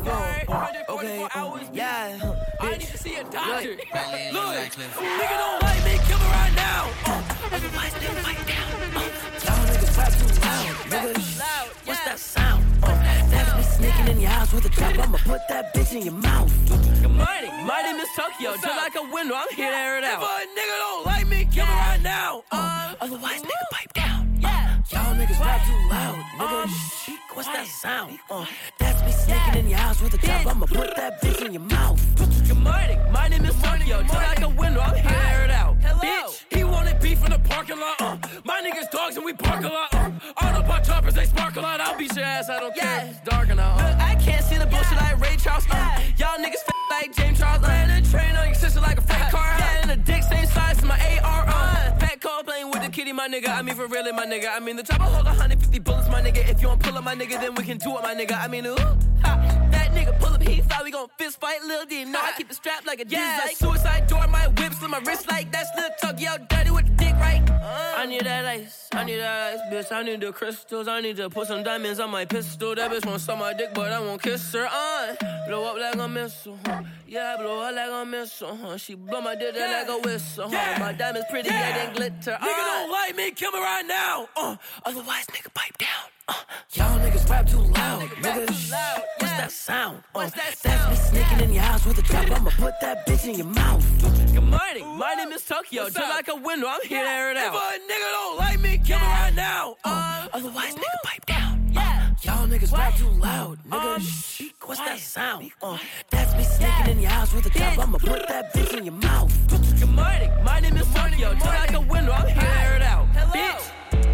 Okay. Yeah. I need to see a doctor. Look, nigga don't like me. Kill me right now. Otherwise, nigga fight down. Y'all niggas rap too loud. Nigga, what's that sound? That's me sneaking in your house with a trap. I'ma put that bitch in your mouth. Good morning. My name is Tokyo. Just like a window, I'm here to air it out. If a nigga don't like me, kill me right now. Uh, Otherwise, nigga, pipe down. Yeah. Y'all niggas rap too loud. Nigga, shh, what's that sound? Uh, that's me sneaking in your house with a trap. I'ma put that bitch in your mouth. Good morning. My name is Tokyo. Just like a window, I'm here to air it out. Hello. Bitch, he wanted beef in the parking lot. Uh, my niggas dogs and we park a lot. Uh, Autobot choppers, they spark a lot. I'll beat your ass, I don't yeah. care. It's dark enough. Uh, I can't see the bullshit yeah. like Ray Charles. Uh, yeah. Y'all niggas f like James Charles. Ran a train on your sister like a fat car. Yeah, and a dick same size as my A R. Uh, Pat Cole playing with the kitty, my nigga. I mean, for really, my nigga. I mean, the top of hold one hundred fifty bullets, my nigga. If you don't pull up, my nigga, then we can do it, my nigga. I mean, ooh, ha. That nigga pull up, he thought we gon' fist fight. Lil' D, no, I keep it strapped like a yeah. Like suicide door, my whips on my wrist like that's Lil' Tuggy out dirty with the dick, right? Uh, I need that ice, I need that ice, bitch. I need the crystals, I need to put some diamonds on my pistol. That bitch won't suck my dick, but I won't kiss her. Uh, blow up like a missile, huh? Yeah, blow up like a missile, huh? She blow my dick yeah. like a whistle, huh? Yeah. My diamonds pretty, yeah, yeah they glitter. Uh, nigga don't like me, kill me right now. Uh, otherwise, nigga, pipe down. Uh, y'all niggas rap too loud, nigga. Too loud. Yeah. What's that sound? Uh, that that's me sneaking in your house with a trap. I'ma put that bitch in your mouth. Good morning. My name is Tokyo. What's Just up? Like a window, I'm here yeah. to air it out. If a nigga don't like me, kill me right now. Uh, uh, otherwise, woo. Nigga, pipe down. Yeah. Uh, y'all niggas what? Rap too loud, nigga. Um, Shh. What's what? That sound? Uh, that's me sneaking yeah. in your house with a trap. I'ma put that bitch in your mouth. Good morning. My name is Tokyo. Just like a window, I'm here to air it out. Hello. Bitch.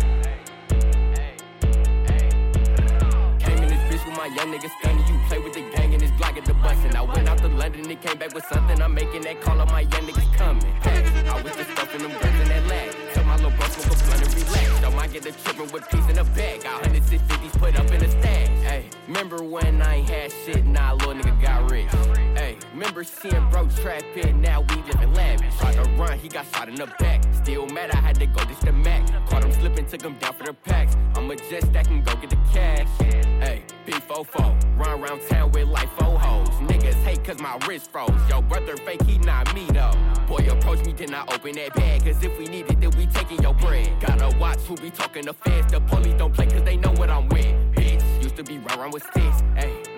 My young niggas stunning, you play with the gang and it's blocking the bus. And I went out to London and came back with something. I'm making that call on my young niggas coming. Hey, I was just stuffing them guns in that lag. Tell my little bro smoke a blunt and relax. Don't mind get the trippin' with peace in the bag. Got hundreds and fifties put up in a stash. Hey, remember when I ain't had shit? Nah, little nigga got rich. Hey, remember seeing bro trapping? Now we living lavish. Tried to run, he got shot in the back. Still mad, I had to go ditch the Mac. Caught him slipping, took him down for the packs. I'ma just stack and go get the cash. Hey, B four four, run around town with like four hoes. Niggas hate cause my wrist froze. Yo, brother fake, he not me though. Boy, approach me, then I open that bag. Cause if we need it, then we taking your bread. Gotta watch who be talking to feds. The police don't play cause they know what I'm with. Bitch, used to be round round with sticks. Hey,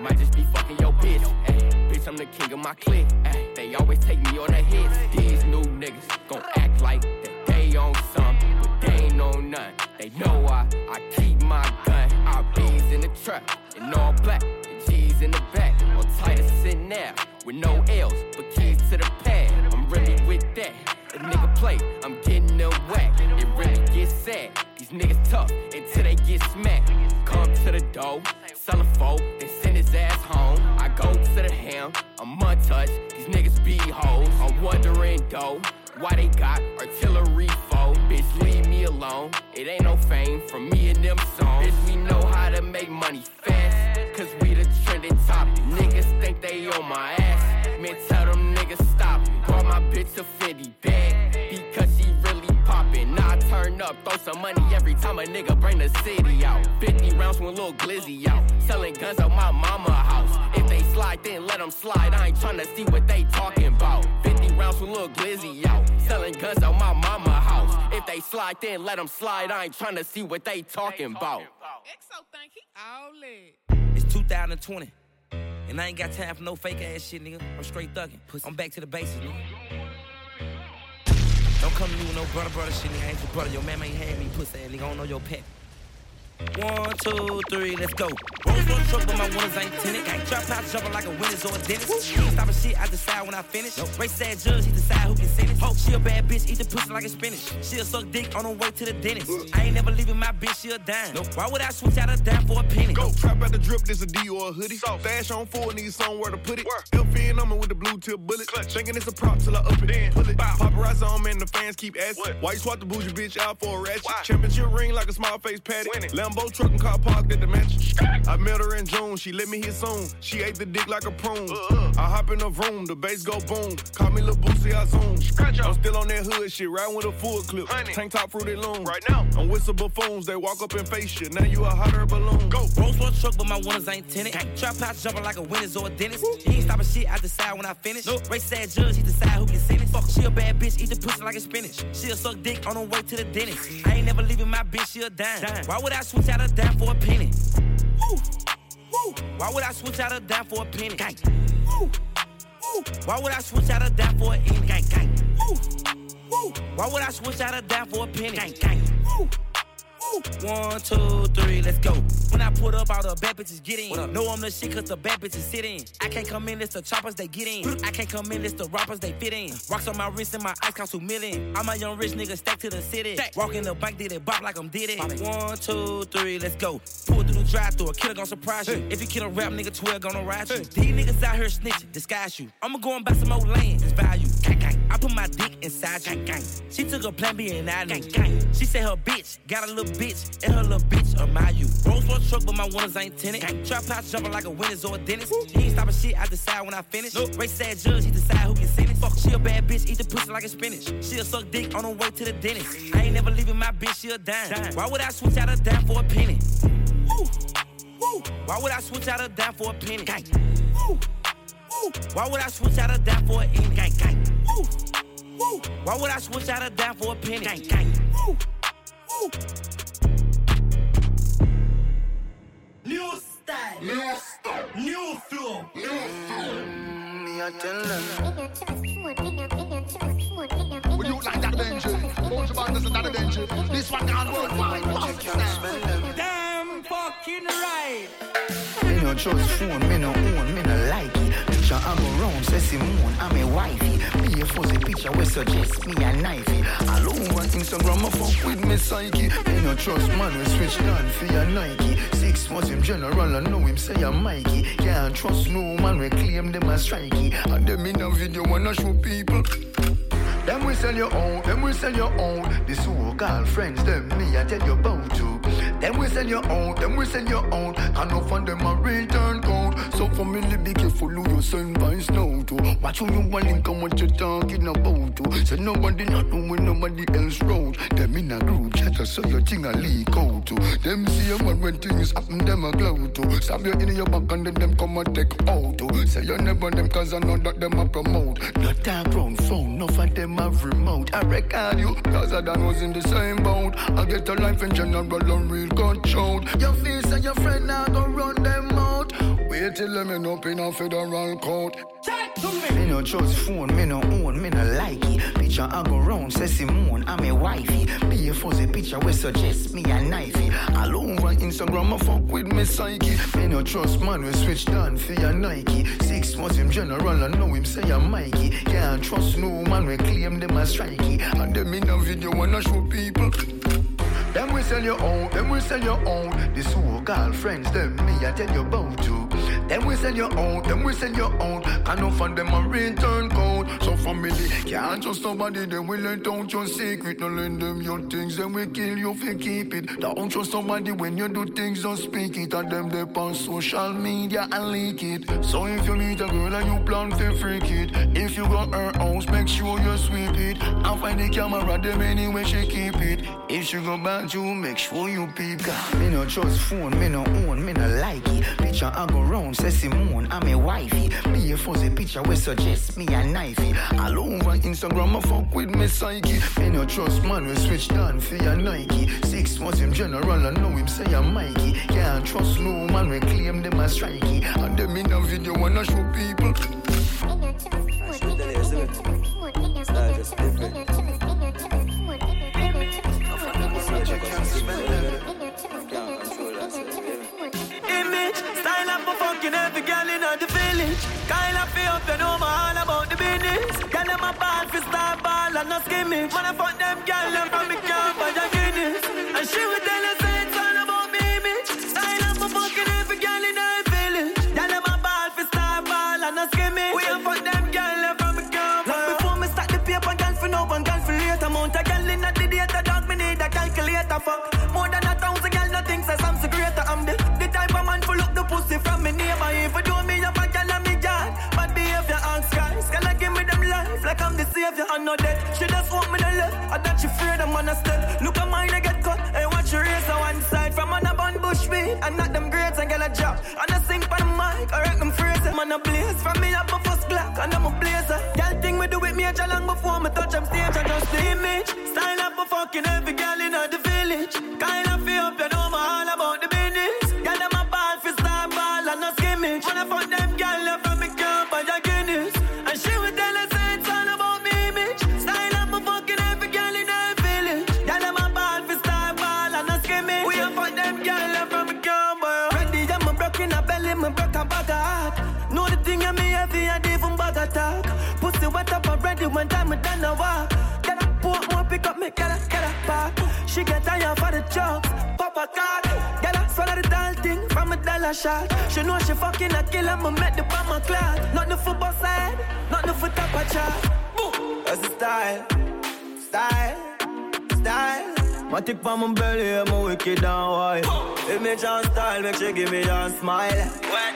might just be fucking your bitch. Ay, bitch, I'm the king of my clique. Ay, they always take me on the hits. These new niggas gon' act like that they on something, but they ain't on none. They know I, I keep my gun. Our beans in the truck, and all black, and G's in the back. On Titus sitting there, with no L's, but keys to the pad. I'm really with that. A nigga play, I'm getting them whack. It really gets sad. These niggas tough until they get smacked. Come to the door, sell a foe, then send his ass home. I go to the ham, I'm untouched. These niggas be hoes. I'm wondering though, why they got artillery foe. Bitch, leave me alone. It ain't no fame from me and them songs. Bitch, we know how to make money fast, cause we the trending topic. Niggas think they on my ass. Man, tell them niggas stop it. Brought my bitch a Fendi bag because she really poppin'. Now I turn up, throw some money every time a nigga bring the city out. fifty rounds with a little glizzy out. Selling guns out my mama house. If they slide, then let them slide. I ain't tryna see what they talking about. fifty rounds with a little glizzy out. Selling guns out my mama house. If they slide, then let them slide. I ain't tryna see what they talking about. X O think he all lit. It's two thousand twenty. And I ain't got time for no fake ass shit, nigga. I'm straight thuggin'. I'm back to the basics, nigga. Don't come to me with no brother, brother shit, nigga. I ain't your brother. Your mama ain't had me, pussy ass, nigga. I don't know your pet. One, two, three, let's go. Rolls on truck, but my winners ain't tinted. Got drop out jumping like a winner's or a dentist. He ain't stopping shit, I decide when I finish. No. Race sad judge, he decide who can sentence. Hope she a bad bitch, eat the pussy like a spinach. She'll suck dick on her way to the dentist. I ain't never leaving my bitch, she a dime. No. Why would I switch out a dime for a penny? Go, trap out the drip, this a D or a hoodie. Stash on full, need somewhere to put it. F in on me with the blue tip bullet. Clutch. Thinking it's a prop till I up it. Then pull it. Bow. Paparazzi on me and the fans keep asking. Why you swap the bougie bitch out for a ratchet? Why? Championship ring like a small face patty. Lambo truck and car parked at the mansion. I met her in June, she let me hit soon. She ate the dick like a prune. Uh-uh. I hop in the room, the bass go boom. Call me Lil Boosie, I zoom. I'm still on that hood shit, riding with a full clip. Honey. Tank top fruity loom. Right now, I'm with some buffoons, they walk up and face shit. Now you a hot air balloon. Go. Rolls for a truck, but my winners ain't tinted. Trap house jumping like a winner's or a dentist. He ain't stopping shit, I decide when I finish. Nope. Race sad judge, he decide who can sentence. Fuck, she a bad bitch, eat the pussy like a spinach. She'll suck dick on her way to the dentist. I ain't never leaving my bitch, she a dime. dime. Why would I switch out a dime for a penny? Woo. Woo. Why would I switch out a dime for a penny? Gang. Woo. Woo. Why would I switch out a dime for a penny? Gang, gang. Woo. Woo. Why would I switch out a dime for a penny? Gang, gang. Woo. One, two, three, let's go. When I put up, all the bad bitches get in. Know I'm the shit cause the bad bitches sit in. I can't come in, it's the choppers, they get in. I can't come in, it's the rappers, they fit in. Rocks on my wrist and my ice cost two million. I'm a young rich nigga, stack to the city. Walk in the bank, did it bop like I'm did it. One, two, three, let's go. Pull through the drive-thru, a killer gon' surprise you. If you kill a rap nigga, twelve gonna ride you. These niggas out here snitching, disguise you. I'ma go and buy some old land, it's value. Gang, gang. I put my dick inside you. Gang, gang. She took a plan B and I gang, gang. She said her bitch got a little bitch and her little bitch admire you. Rolls for a truck, but my winners ain't tinted. Gang. Trap house jumping like a winner's or a dentist. He ain't stopping shit, I decide when I finish. Nope. Race sad judge, he decide who can sentence. Fuck, she a bad bitch, eat the pussy like a spinach. She'll suck dick on her way to the dentist. I ain't never leaving my bitch, she a dime. dime. Why would I switch out a dime for a penny? Woo. Woo. Why would I switch out a dime for a penny? Gang. Woo. Woo. Why would I switch out a dime for a penny? Gang, gang. Woo. Woo. Why would I switch out a dime for a penny? Gang, gang. Woo. Woo. New style, new style, new flow, new flow. Me I tell them. Would you like that Benji? Won't you buy this and that Benji? This one can't work. Damn fucking right. Me no trust phone, me no own, me no like it. Picture I'm around, say Simone, I'm a wifey. Me a fuzzy picture we suggest me a knifey. All over Instagram, I fuck with me psyche. Me no trust man, we switch down for your Nike. Six was him general, I know him say I'm Mikey. Can't trust no man, we claim them as strikey. And them in a video wanna show people. Them we sell your own, them we sell your own. The so-called friends, them me I tell you about you. Them we sell your own, them we sell your own. Can't no find them a return code. So for me, be careful who you send by snow to. Watch who you want link and what you talking about to. So nobody not know when nobody else wrote. Them in a group chat so your thing a leak out to. Them see a man when things happen, them a glow to. Stab you in your back and then them come and take out to. Say you never them cause I know that them a promote. Not that ground phone, no for them a remote. I record you cause I done was in the same boat. I get a life in general and real gunshot. Your face and your friend now go run them out. Wait till them end up in a federal court. Me no trust phone, me no own, me no like it. Picture I go round, say Simone, I'm a wifey. Be a fuzzy picture we suggest me a knifey. All over Instagram, I fuck with me psyche. Me no trust man, we switch down for your Nike. Six months him general, I know him say I'm Mikey. Can't trust no man, we claim them as strikey. And them in a video wanna show people. Them we sell your own, them we sell your own. The so-called friends, them me I tell you about too. Them we sell your own, them we sell your own. Can't no fund them a return code. So family can't trust somebody, they will let out your secret. No lend them your things, then we kill you if you keep it. Don't trust somebody when you do things, don't speak it. And them they on social media and leak it. So if you meet a girl and you plan to freak it, if you got her house, make sure you sweep it. And find the camera, them anyway she keep it. If she go back, you make sure you peep. Me no trust phone, me no own, me no like it. Picture I go round, say Simone, I'm a wifey. Be a fuzzy picture we suggest me a knifey. All over Instagram, I fuck with me psyche. Me no trust man, we switch down for your Nike. Six months him general, I know him say I'm Mikey. Can't trust no man, we claim them as strikey. And them in a video wanna show people. Image, style up for fucking every girl in the village. Kind of feel up, you know my all about the business. Girl, them a ball for star ball and no skimming. Man, I fuck them girl, them from me camp and the Guinness. And she would tell us it's all about me image. Style up for fucking every girl in the village. Girl, them a ball for star ball and no skimming. We a fuck them girl, them from me camp. Long before me start the paper, girl for now and girl for later. Amount of girl in the data, dog, me need a calculator. Fuck more than a thousand girl, nothing says I'm so greater. I'm the, the type of man full up the pussy from me neighbor. If you do me up a girl and me girl, bad behavior and skies. Girl, I give me them life like I'm the savior. I know that she just want me to live. I that she afraid I'm on a step. Look at mine, I get cut. And watch her race on one side. From on a bun bush me, and not them grades and get a job. And I sing for the mic, I wreck them phrases. Man, I blaze from me up my first Glock, and I'm a blazer. Girl, thing we do with me a long before me touch them stage. And just the image, style up for fucking every girl in the village. Kind of feel up, you know my all about the business. Girl, them a ball for star ball and no skimmage. When I fuck them girl, them from me camp and the Guinness. And she would tell us it's all about me image. Style up for fucking every girl in the village. Girl, them a ball for star ball and no skimmage. We a fuck them girl, them from me camp. Ready, I'm a broke in a belly, me broke a bag of heart. Know the thing I'm heavy and even bag of talk. Pussy wet up already when time we done a walk. Get a port, more pick up me, get a, get a park. She get tired for the jokes, pop a card. Get a swallow the doll thing from a dollar shot. She know she fucking a killer, me met the bomb a cloud. Not the football side, not the foot up a chart. Boom, that's the style, style, style. My tick on my belly, I'm a wicked and wild. Image and style, make sure give me a smile.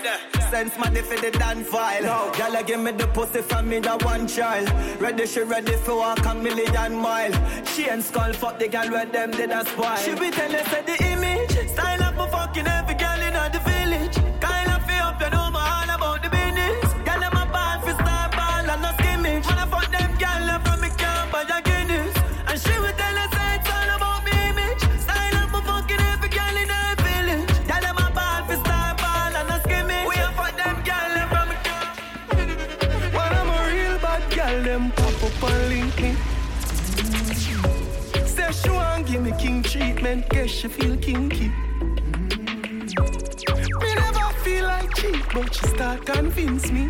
Sense my for the dan file. No. Y'all give me the pussy from me, that one child. Ready, she ready for walk a million mile. She and skull fuck the girl where them did a spoil. She be telling us the image. Style up for fucking every girl in the village. Kind of feel up, you know my all about the business. Girl, them a ball for star ball and no skimmage. When I fuck them girl, them from me camp and the Guinness. And she would tell us it's all about me image. Style up for fucking every girl in the village. Girl, them a ball for star ball and no skimmage. We a fuck them girl, them from me camp. When I'm a real bad girl, them pop up and link me. Say she want give me king treatment, guess she feel kinky. Me never feel like cheap, but she start convince me.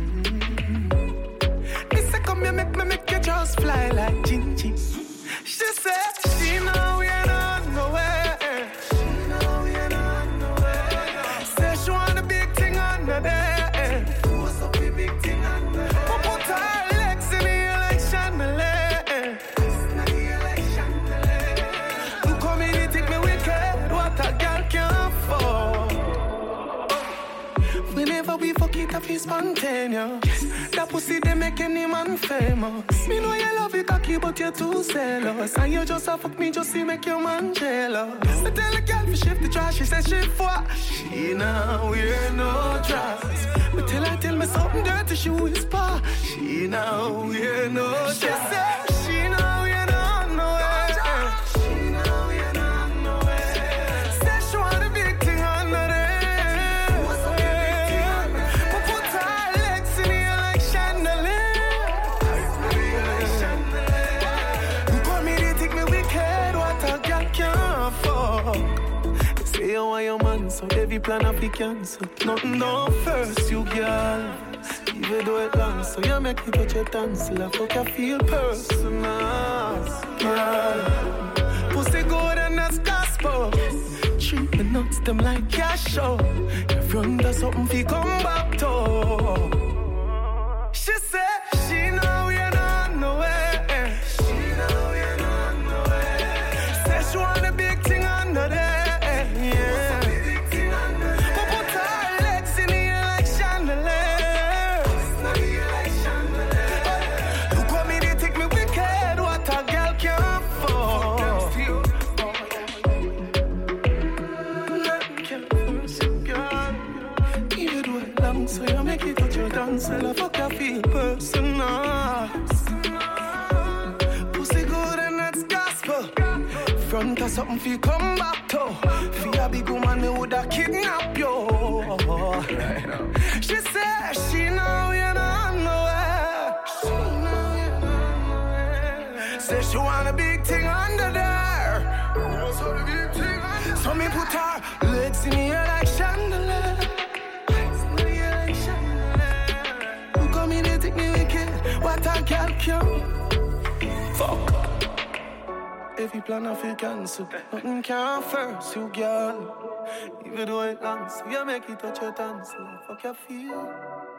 Me say come here, make me make you just fly like Gingy. She said she know we ain't on nowhere. She know we ain't on nowhere. Say she want a big thing under there. What's up the big thing under there? But put her legs in the air like chandelier. It's not the air like chandelier. You come in and take me wicked, what a girl can afford. Whenever we fuck it up, it's spontaneous. That pussy, they make any man famous. Me know you love it cocky, but you're too zealous. And you just a fuck me, just to make your man jealous. I tell the girl to shift the trash, she says shift what? She now wear no dress. But tell her, tell me something dirty, she whisper. She now wear no dress. She said she now wear no nowhere. She now wear no nowhere. Say she want a big thing under there. What's up, big thing? Say you want your man, so every plan I be cancel. Nothing down first, you girl. Even though it long, so you make me touch your tonsil. I fuck you feel personal, girl. Pussy good and that's gospel. Treat me nuts, them like cash show. If you under something, fi come back to. She said, she know we ain't on the way. She know we ain't on the way. Said she want a big thing under there. Yeah. But put her legs in the air like chandelier. Look what me, they take me wicked. What a girl can afford. So you make it touch your dance, and I fuck you feel personal. Pussy good and that's gospel. Front of something feel come back to. For a big woman, me woulda kidnap you. She said she know you're not nowhere. She know you're not nowhere. Say she want a big thing under there. So the big thing under there. So me put her legs in the air like chandelier. What a girl can fuck. Every plan I feel cancel. Nothing can first, you girl. Even though it long, so you make it touch your dance. Fuck your feel.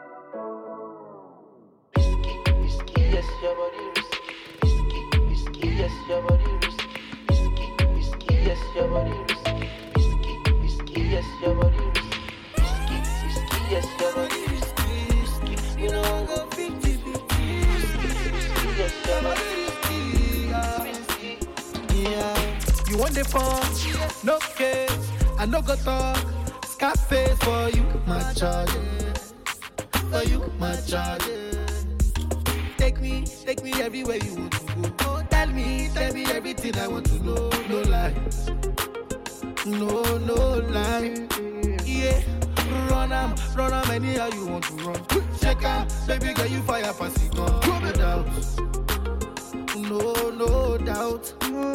Risky, risky, yes, your body risky. Risky, risky, yes, your body risky. Risky, risky, yes, your body risky. Risky, risky, yes, your body risky. Risky, risky, yes, your body risky. Risky, you know I'm gonna fifty. Yeah, you want the phone? No case, I no go talk. Scarface for you, my charge. For you, my charge. Take me, take me everywhere you want to go. Oh, tell me, tell me everything I want to know. No lies, no, no lies. Yeah, run am, run am anyhow you want to run. Check out, baby girl, you fire pass it on. No doubt, no, no doubt.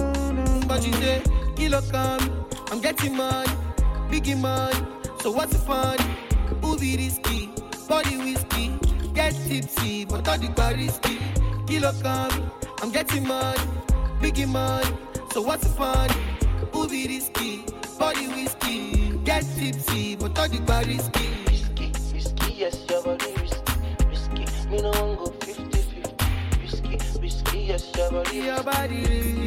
But you say, kilo come, I'm getting money, biggie money. So what's the fun? Who be risky? Body whiskey, get tipsy, but all the bar risky. Kilo come, I'm getting money, biggie money. So what's the fun? Who be risky? Body whiskey, get tipsy, but all the bar risky. Risky, risky, yes, your body risky. Risky, me no one go fifty fifty. Risky, risky, yes, your body Your body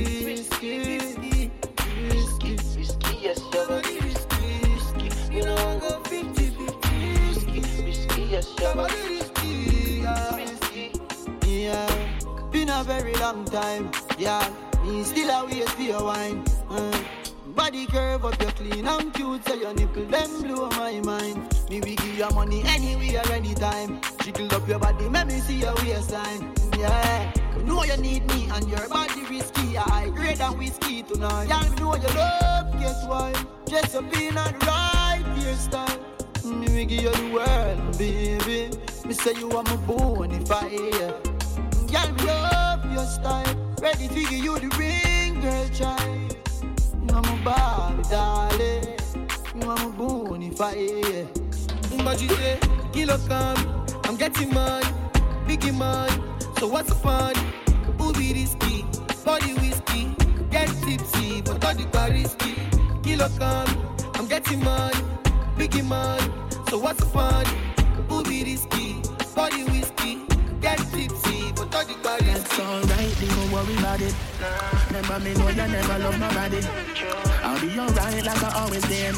risky, risky, risky, risky, yes, your body risky. Risky, me no one go fifty fifty. Risky, risky, yes, your body risky. Risky, yeah. Been a very long time, yeah. Me still a wait for your wine. Uh. Body curve up, you clean and cute, so your nipple them blow my mind. Me we give you money anywhere, anytime. Jiggle up your body, make me see your waistline. Yeah, you know you need me and your body risky. I grade and whiskey tonight. Yeah, you know you love, guess why? Dress up in and right hairstyle. Me we give you the world, baby. Me say you are my bonafide. Yeah, me love your style. Ready to give you the ring, girl, child. You are my Barbie, darling. You are my bonafide. But you say, kilo come, I'm getting money, biggie money. So what's the fun? Who be risky? Body whiskey, get tipsy, but all the bar risky. Kilo come, I'm getting money, biggie money. So what's the fun? Who be risky? Body whiskey, get tipsy, but all the bar risky. That's alright, don't worry about it. Remember me know you never love nobody. I'll be alright like I always been.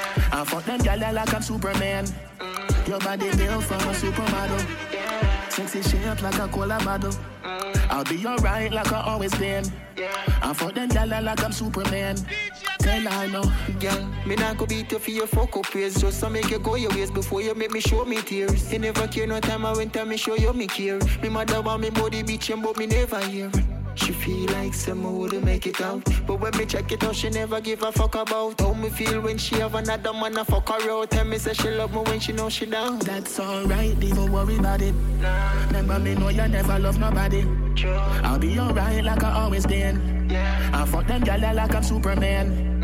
I fuck them gyal like I'm Superman. Your body built from a supermodel. Sexy shape like a cola bottle. I'll be alright like I always been. I fuck them gyal like I'm Superman. Tell I know, girl, me not go beat you for your fuck up ways. Just to make you go your ways before you make me show me tears. You never care no time I went and me show you me care. Me mother want me body bitchin' but me never hear. She feel like someone wouldn't make it out. But when me check it out, she never give a fuck about how me feel when she have another man a fuck her out. Tell me say she love me when she know she down. That's alright, don't worry about it. Remember me know you never love nobody. I'll be alright like I always been. I fuck them gyal like I'm Superman.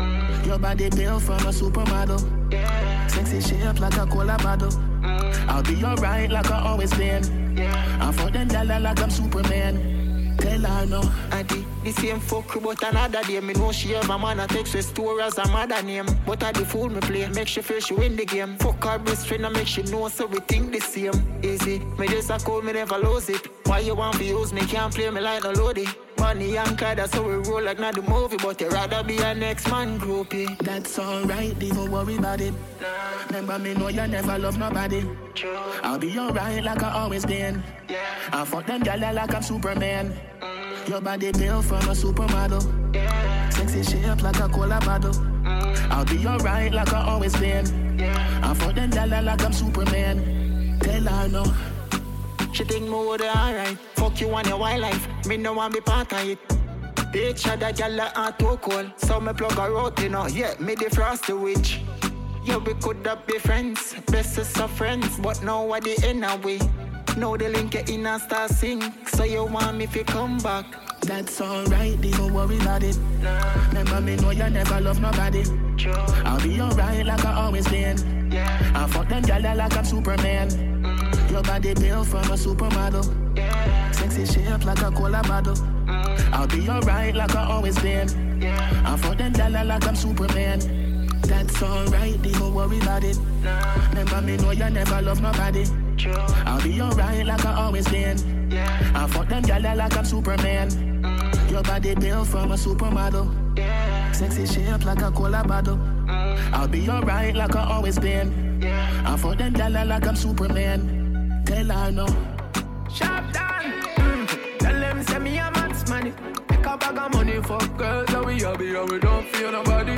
Your body built from a supermodel. Yeah. Sexy shape like a cola bottle. Mm. I'll be alright like I always been. Yeah. I'm for them dollar like I'm Superman. Tell her no. Auntie, the same fuck but another day. Me know she have a man that takes her store as a mother name. But I the fool me play, make she feel she win the game. Fuck her best friend and make she know so we think the same. Easy, me just a call me never lose it. Why you want to use me, can't play me like no loadie. Money and car, that's how we roll like not the movie. But you rather be a next man groupie. That's alright, don't worry about it. Nah. Remember me know you never love nobody. True. I'll be alright like I always been. Yeah. I fuck them gyal like I'm Superman. Mm. Your body built from a supermodel. Yeah. Sexy shape like a cola bottle. Mm. I'll be alright like I always been. Yeah. I fuck them gyal like I'm Superman. Tell her no. She think me would alright. Fuck you and your wildlife. Me no want be part of it. Bitch, that gyal are too cold. So me plug her out, you know. Yeah, me the frosty witch. Yeah, we could have be friends, bestest of friends, but now what the end of we? Now the link in a star sing, so you want me to come back? That's alright, don't worry about it. Nah. Remember me know you never love nobody. True. I'll be alright like I always been. Yeah. I fuck them gyal like I'm Superman. Mm. Your body built from a supermodel. Yeah. Sexy shape like a cola bottle. Mm. I'll be alright like I always been. Yeah. I fuck them gyal like I'm Superman. That's alright, don't worry about it. Nah. Remember me know you never love nobody. True. I'll be alright like I always been. Yeah. I fuck them gyal like I'm Superman. Mm. Your body built from a supermodel. Yeah. Sexy shape like a cola bottle. Mm. I'll be alright like I always been. Yeah. I fuck them gyal like I'm Superman. Tell her no. Sharp down. Mm. Tell them send me a man's money. Pick a bag of money for girls that we happy and we don't feel nobody.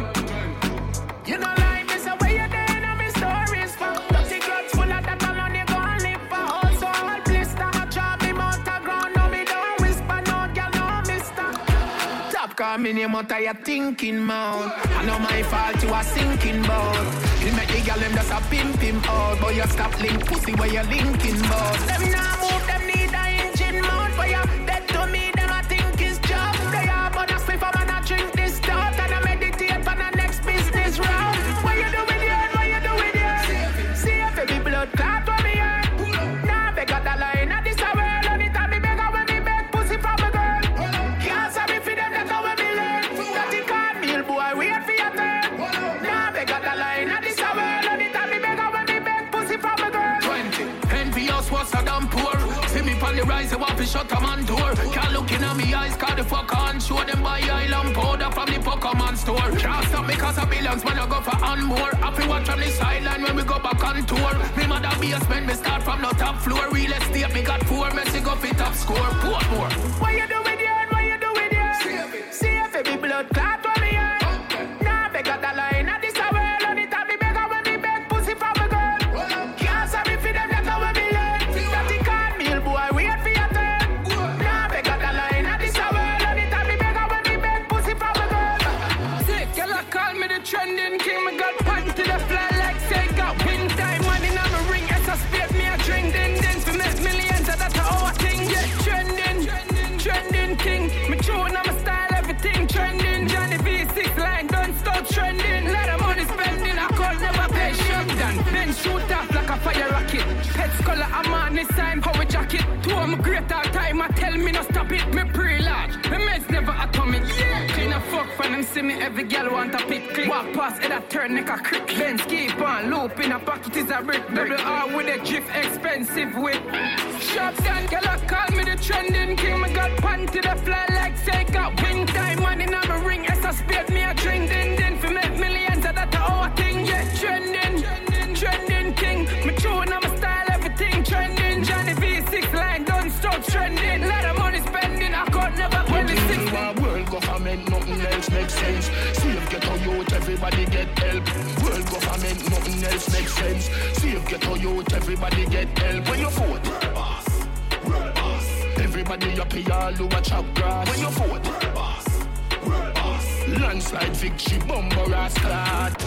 You know like me, so where you there in my stories for? Dirty clothes full of that alone, you gon' live for. Also all blister, I try me mount a ground, no me don't whisper, no girl, no mister. Top call me name out of your thinking mouth. I know my fault, you are sinking boat. You make the girl them just a pimp him out, but you stop link pussy where you linking bout. Them now move, them need a engine mount for you. Dead to me, them I think is job. They are but I sleep, I'm not drink this stuff, and I meditate on the next business round. What you do with your, what you do with your? See if baby blood clot for me here. Now they got the line at this hour. Anytime me beg, when me beg pussy from a girl. Can't say me for them, that's how we learn. That he can't meal boy, wait for your turn. Now they got the line at this hour. Anytime me beg, when me beg pussy from a girl. Twenty, envious was a damn poor. See me on the rise, I want to shut a man door. Can't look in at me eyes, call the fuck on. Show them my island powder from the Pokemon store. Can't stop because of billions, man, I go for on more. Happy watch from the sideline when we go back on tour. Me mother basement, me start from the top floor. Real estate, me got four, Messi go fit top score. Portmore. What you do with your, what you do with your? See if baby blood clot for me here. Now they got the line at this hour. Anytime me beg, when me beg pussy from a girl. Can't say me for them, that's how we learn. That he can't meal boy, wait for your turn. Now they got the line at this hour. Anytime me beg, when me beg pussy from a girl. Sick, girl, I call me the trending king. Me got pants to the fly like say got wind time. Money now me ring, it's a spade me a drink. Din din to make millions, that's our thing. Yeah, trending, trending king. Me tune, I'm a style, everything trending. Johnny V six line, don't stop trending. Lot of money spending, I call never pay shotgun. Then shoot off like a fire rocket. Pets color, I'm on this time, how we jacket. Two of my great all time, I tell me no stop it. Me pre-large, me meds never atomic. Yeah, clean a fuck for them, see me every girl want a pick click. Walk past it, I turn neck a crick. Then keep on, loop in a pocket is a brick. Double R with a drift, expensive whip. Shotgun, girl, I call me the trending king. Me got panty the fly like say got wind time. Money now me ring, it's a spade me a drink. Din din for make millions, that's our thing. Yeah, trending, trending king. Me tune, I'm a style, everything trending. Johnny V six line, don't stop trending. Lot of money spending, I could never get the six. World government, nothing else makes sense. See if get on youth, everybody get help. World government, nothing else makes sense. See if get on youth, everybody get help. When you vote, world boss, world boss. Everybody up here, all over chop grass. When you vote, world boss, world boss. Landslide victory, bumper ass clad.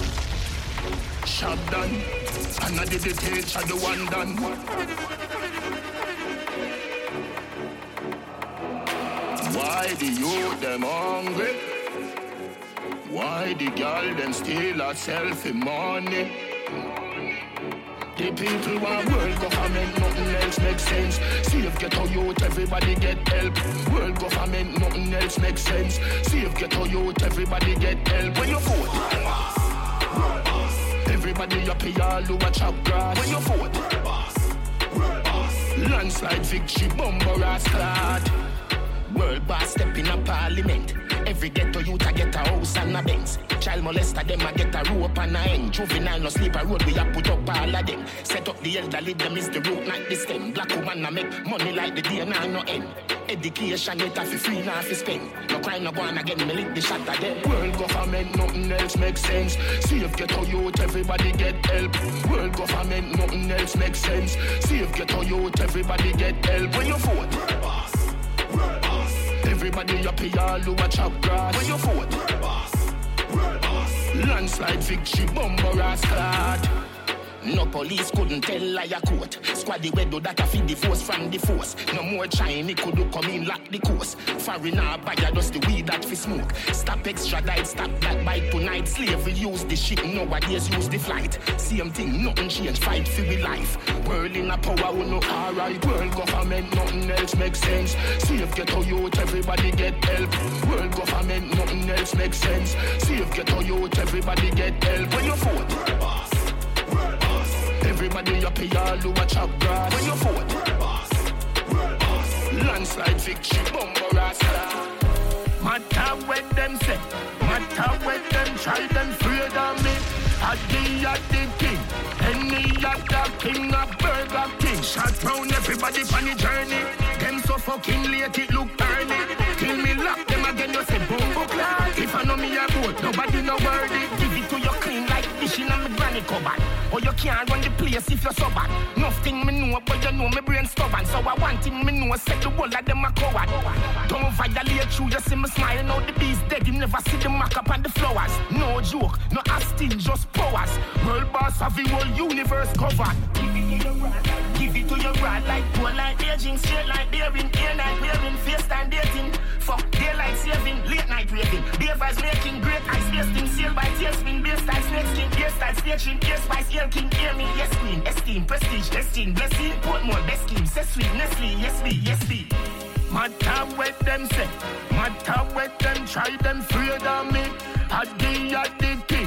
Shot done, and I did the page of the one done. Why the youth them hungry? Why the girl them steal a selfie money? The people want world government, nothing else makes sense. See if ghetto youth, everybody get help. World government, nothing else makes sense. See if ghetto youth, everybody get help. When you vote, world boss, world boss. Everybody up here, all who a chop grass. When you vote, world boss, world boss. Landslide victory, bumper ass clad. World boss step in a parliament. Every ghetto youth a get a house and a Benz. Child molester them a get a rope and a end. Juvenile no sleep a road, we a put up all of them. Set up the elderly, them is the root, not the stem. Black woman a make money like the day now no end. Education yet a fi free now fi spend. No crime no go on again, me lick the shot of them. World government, nothing else makes sense. See if ghetto youth, everybody get help. World government, nothing else makes sense. See if ghetto youth, everybody get help. When you vote, world boss, world boss. Everybody up here, all who a chop grass. When you vote, world boss, world boss. Landslide victory, bumper ass clad. No police couldn't tell liar court. Squaddy we do that a feed the force from the force. No more Chinese could do come in lock the course. Foreigner buyer just the weed that fi smoke. Stop extradite, stop that bite tonight. Slavery use the ship, nowadays use the flight. Same thing, nothing change, fight for we life. World in a power, we no alright. World government, nothing else makes sense. See if ghetto youth, everybody get help. World government, nothing else makes sense. See if ghetto youth, everybody get help. When you vote, world boss, world boss. Everybody up here, all who a chop grass. When you vote, world boss, world boss. Landslide victory, bumper ass clad. Matter what them say, matter what them try, them afraid of me. I the at the king, any other king of Burger King. Shot round everybody on the journey. Them so fucking late it look early. Till me lock them again, you say bumbo clad. If I know me a vote, nobody no worthy. Give it to you clean like fish in a me granny cupboard. Or you can't run the place if you're so bad. Nothing me know, but you know me brain stubborn. So I want him me know, set the whole of them a coward. Don't violate you, you see me smiling out the bees dead. You never see the mark up on the flowers. No joke, no asking, just powers. World boss have the whole universe covered. Give it to your rod, give it to your rod. Like poor like aging, straight like daring. Air night wearing, face time dating. Fuck daylight saving, late night raving. Beer vibes making great ice wasting. Sail by tailspin, beer style snake skin. Beer style staging, ear spice, ear king, hear me, yes queen. Esteem, prestige, esteem, blessing. Portmore, best scheme, say sweet, Nestle, yes me, yes me. Matter what them say, matter what them try, them afraid of me. I the at the king,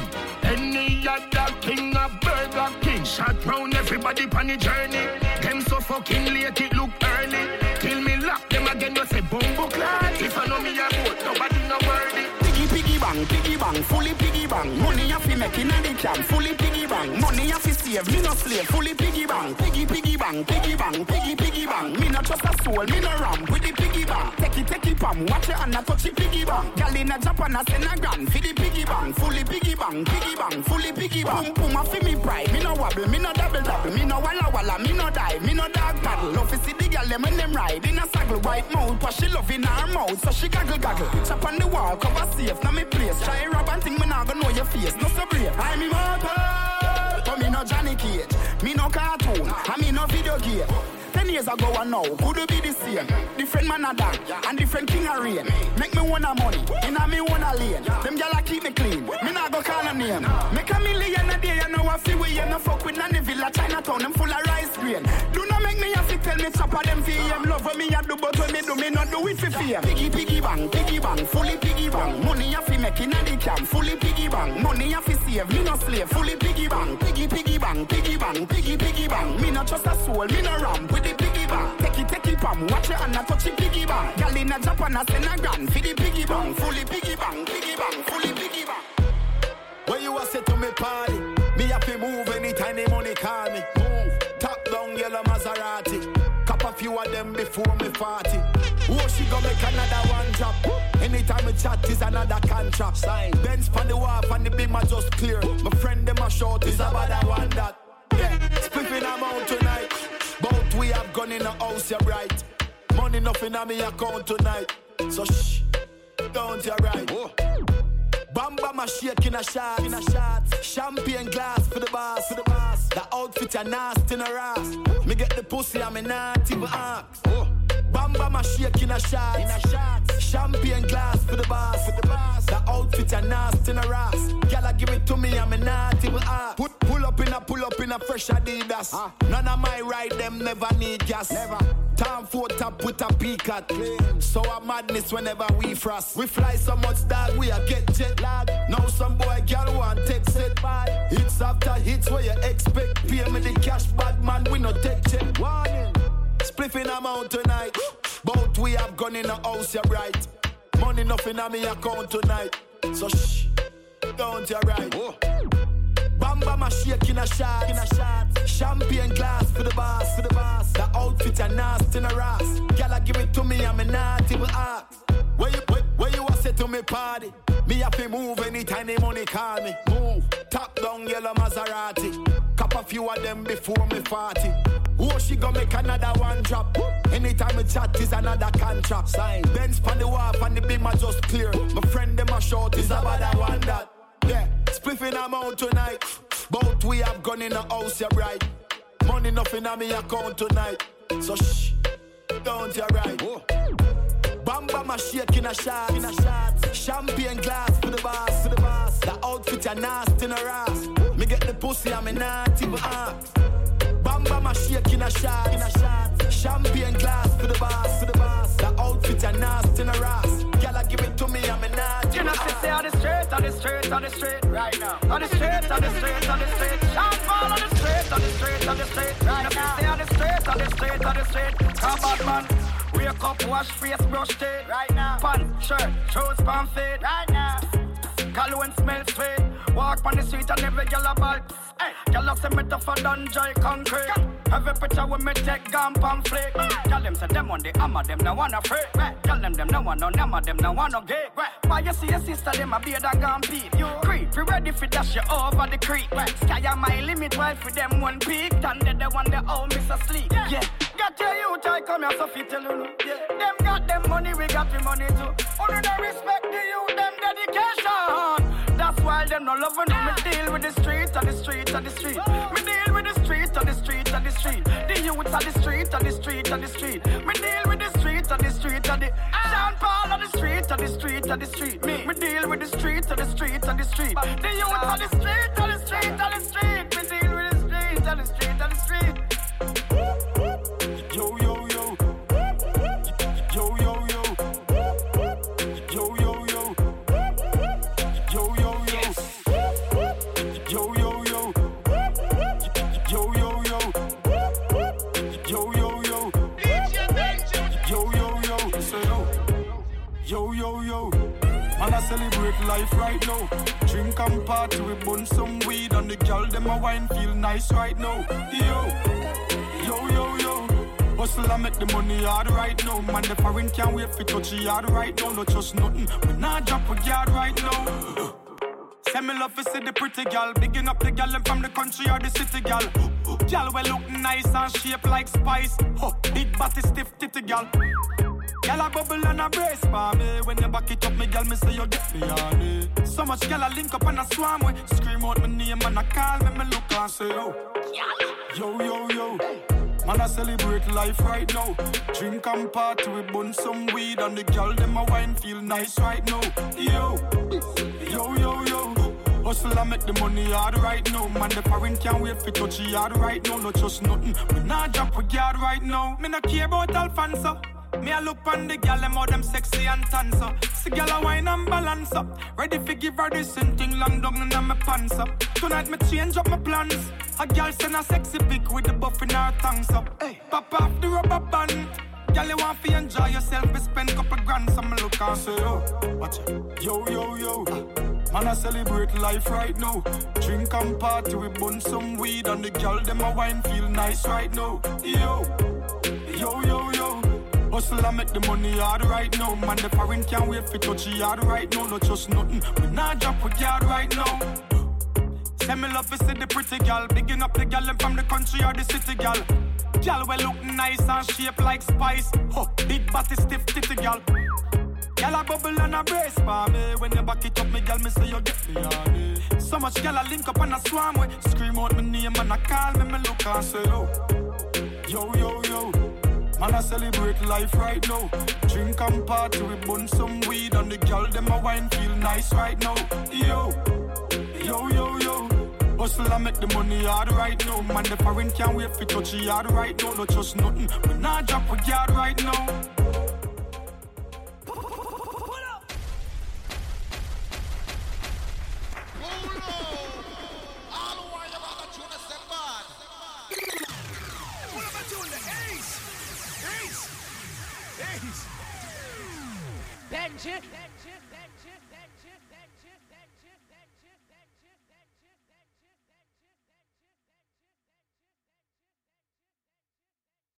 any other king of Burger King. Shot round everybody on the journey. Them so fucking late it look early. Till me lock them again, you say bumbo clad. If I know me a vote, nobody no worthy. Piggy piggy bang, piggy bang, fully piggy bang. Money you fi make inna the camp, fully piggy bang. Money you fi save, me no slave, fully piggy bang. Piggy piggy bang, piggy bang, piggy piggy bang. Me no trust a soul, me no ram with the piggy bang. Take it, take it, pam, watch it and a touch it piggy bang. Girl in a Japan a send a grand, fi the piggy bang, fully piggy bang, piggy bang, fully piggy bang. Boom boom a fi me pride, me no wobble, me no double double, me no walla walla, me no die, me no dog paddle. Love fi see the girl them when them ride in a saddle, white mouth, but she love in her mouth, so she gaggle gaggle. Chop on the wall, cover safe, now me place. Try rob and think me nah go know your face, no so brave. I'm immortal, but me no Johnny Cage, me no cartoon, and me no video game. Ten years ago and now, could it be the same? Different man a dog, and different king a reign. Make me wanna money, inna me wanna lane. Them gyal keep me clean, me nah go call a name. Make a million a day, you know I feel we you no fuck with none villa Chinatown, them full of rice grain. Do not make me have to tell me chop of them fee. Them love when me a do, but when me do, me not do it for fame. Piggy piggy bang, piggy bang, fully piggy bang. Money you fi make inna the camp, fully piggy bang. Money you fi save, me no slave, fully piggy bang. Piggy piggy bang, piggy bang, piggy piggy bang. Me no trust a soul, me no ram with the piggy bang. Take it, take it, pam, watch it and a touch it piggy bang. Girl in a Japan a send a grand, fi the piggy bang, fully piggy bang, piggy bang, fully piggy bang. When you a say to me party, me have to move anytime the money call me. Move, top down yellow Maserati. Cop a few of them before me forty. Oh, she go make another one drop. Anytime we chat is another contract. Sign, Benz pon the wharf and the beam are just clear. My friend them a short is about that one that. Yeah, spliffing them out tonight. Both we have gone in the house, you're right. Money nothing on me account tonight. So shh, don't you right. Oh. Bamba my shake in a shot, in a shot. Champagne glass for the boss, for the boss. The outfit are nasty in a ass. Me get the pussy, I'm not even ask. Oh. Bamba my shake in a shot, in a shot. Champagne glass for the boss, for the boss. The outfit are nasty in a ass. Gyal give it to me, I'm a naughty with ass. Put pull up in a pull up in a fresh Adidas. Huh? None of my ride them never need gas. Never. Time for top with a peacock. So a madness whenever we frost. We fly so much dog, we a get jet lag. Now some boy girl want take set by. Hits after hits where you expect. Pay me the cash, bad man, we no take check. Warning. Spliffing amount tonight. Both we have gone in the house, you're right. Money nothing on me account tonight. So shh, don't you right. Whoa. Bamba my shake in a shot, in a shot. Champagne glass for the boss, for the boss. The outfit are nasty in a ass. Gyal give it to me, I'm a naughty with ass. Where you, where, where you a say to me party? Me have to move anytime the money call me. Move, top down yellow Maserati. Cop a few of them before me forty. Oh, she gon' make another one drop. Anytime we chat is another contract. Sign. Benz pan the wharf and the beam are just clear. My friend them a short is about that one that. Yeah, spliffing amount tonight. Both we have gone in the house, you're right. Money nothing on me account tonight. So shh, don't you right. Whoa. Bamba my shake in a shot, in a shot. Champagne glass for the boss, for the boss. The outfit are nasty in a ass. Me get the pussy, I'm a naughty with ass. Bamba my shake in a shot, in a shot. Champagne glass for the boss, for the boss. The outfit are nasty in a ass. Gyal give it to me, I'm a naughty. You know, say on the street, on the street, on the street, right now. On the street, on the street, on the street. Sean Paul on the street, on the street, on the street, right now. Say on the street, on the street, on the street. Come on, man. Wake up, wash face, brush teeth, right now. Pants, shirt, shoes, pants, feet, right now. Cologne smell sweet. Walk on the street and every girl a ball. Hey, girl a say me tougher than dry concrete. Every picture with me take gun pamphlet. Girl them say them on the hammer, them no wanna free. Girl them them no want no hammer, them no want no gay. Why you see your sister, them a beard and gun beat. You creep, you ready for dash you over the creek. Sky a my limit while for them one peak. And they the one they all miss asleep. Yeah, got your youth, I come here so fit tell you. Yeah, them got them money, we got the money too. Only they respect the youth, them dedication. That's why them no loving me. Me deal with the street, on the street, on the street. Me deal with the street, on the street, on the street. The youths on the street, on the street, on the street. Me deal with the street, on the street, on the. Sean Paul on the street, on the street, on the street. Me, me deal with the street, on the street, on the street. The youths on the street, on the street, on the street. Me deal with the street, on the street, on the street. Yo yo yo. Yo yo yo. Yo yo yo. Yo yo yo. Yo yo yo. Yo yo yo. Yo yo yo. Yo yo yo. Say yo. Yo yo yo. Man, I celebrate life right now. Drink and party, we bun some weed. And the girl, them a wine, feel nice right now. Yo, yo, yo, yo. Hustle and make the money hard right now. Man, the foreign can't wait for touch yard right now. No trust nothing, we not drop a yard right now. Send me love to see the pretty gal. Bigging up the gal from the country or the city gal. Gal well look nice and shape like spice. Oh, big body stiff titty gal. Gal a bubble and a brace for me. When you back it up, me gal, me say you get me on it. So much gal a link up and a swam with. Scream out my name and a call me, me look and say yo. Yo, yo, yo. Man, I celebrate life right now. Drink and party, we bun some weed. And the gal, them a wine, feel nice right now. Yo, yo, yo, yo. Hustle and make the money hard right now. Man, the foreign can't wait for touch yard right now. No trust nothing, we not drop a yard right now. Me not care about Alfonso. Me a look on the gal, them all them sexy and tan so. See gal a wine and balance up. Ready for give her this thing long down in my pants up. Tonight me change up my plans. A gal send a sexy pic with the buff in her tongues up. Hey, pop off the rubber band. Gal you want to enjoy yourself, we spend couple grand. So me look and say yo, watch it. Yo, yo, yo. Man, I celebrate life right now. Drink and party, we bun some weed. And the gal, them a wine, feel nice right now. Yo, yo, yo, yo. Hustle and make the money hard right now. Man, the foreign can't wait for touch yard right now. No trust nothing, we not drop a yard right now. Send me love to see the pretty gal. Bigging up the gal from the country or the city gal. Gal well look nice and shape like spice. Oh, big body stiff titty gal. Gal a bubble and a brace for me. When you back it up, me gal, me say you get me on it. So much gal a link up and a swam with. Scream out my name and a call me, me look and say yo. Yo, yo, yo. Man, I celebrate life right now. Drink and party, we bun some weed. And the girl, them a wine feel nice right now. Yo, yo, yo, yo. Hustle and make the money hard right now. Man, the foreign can't wait for touch the yard right now. No trust nothing, we not drop a yard right now. Benji,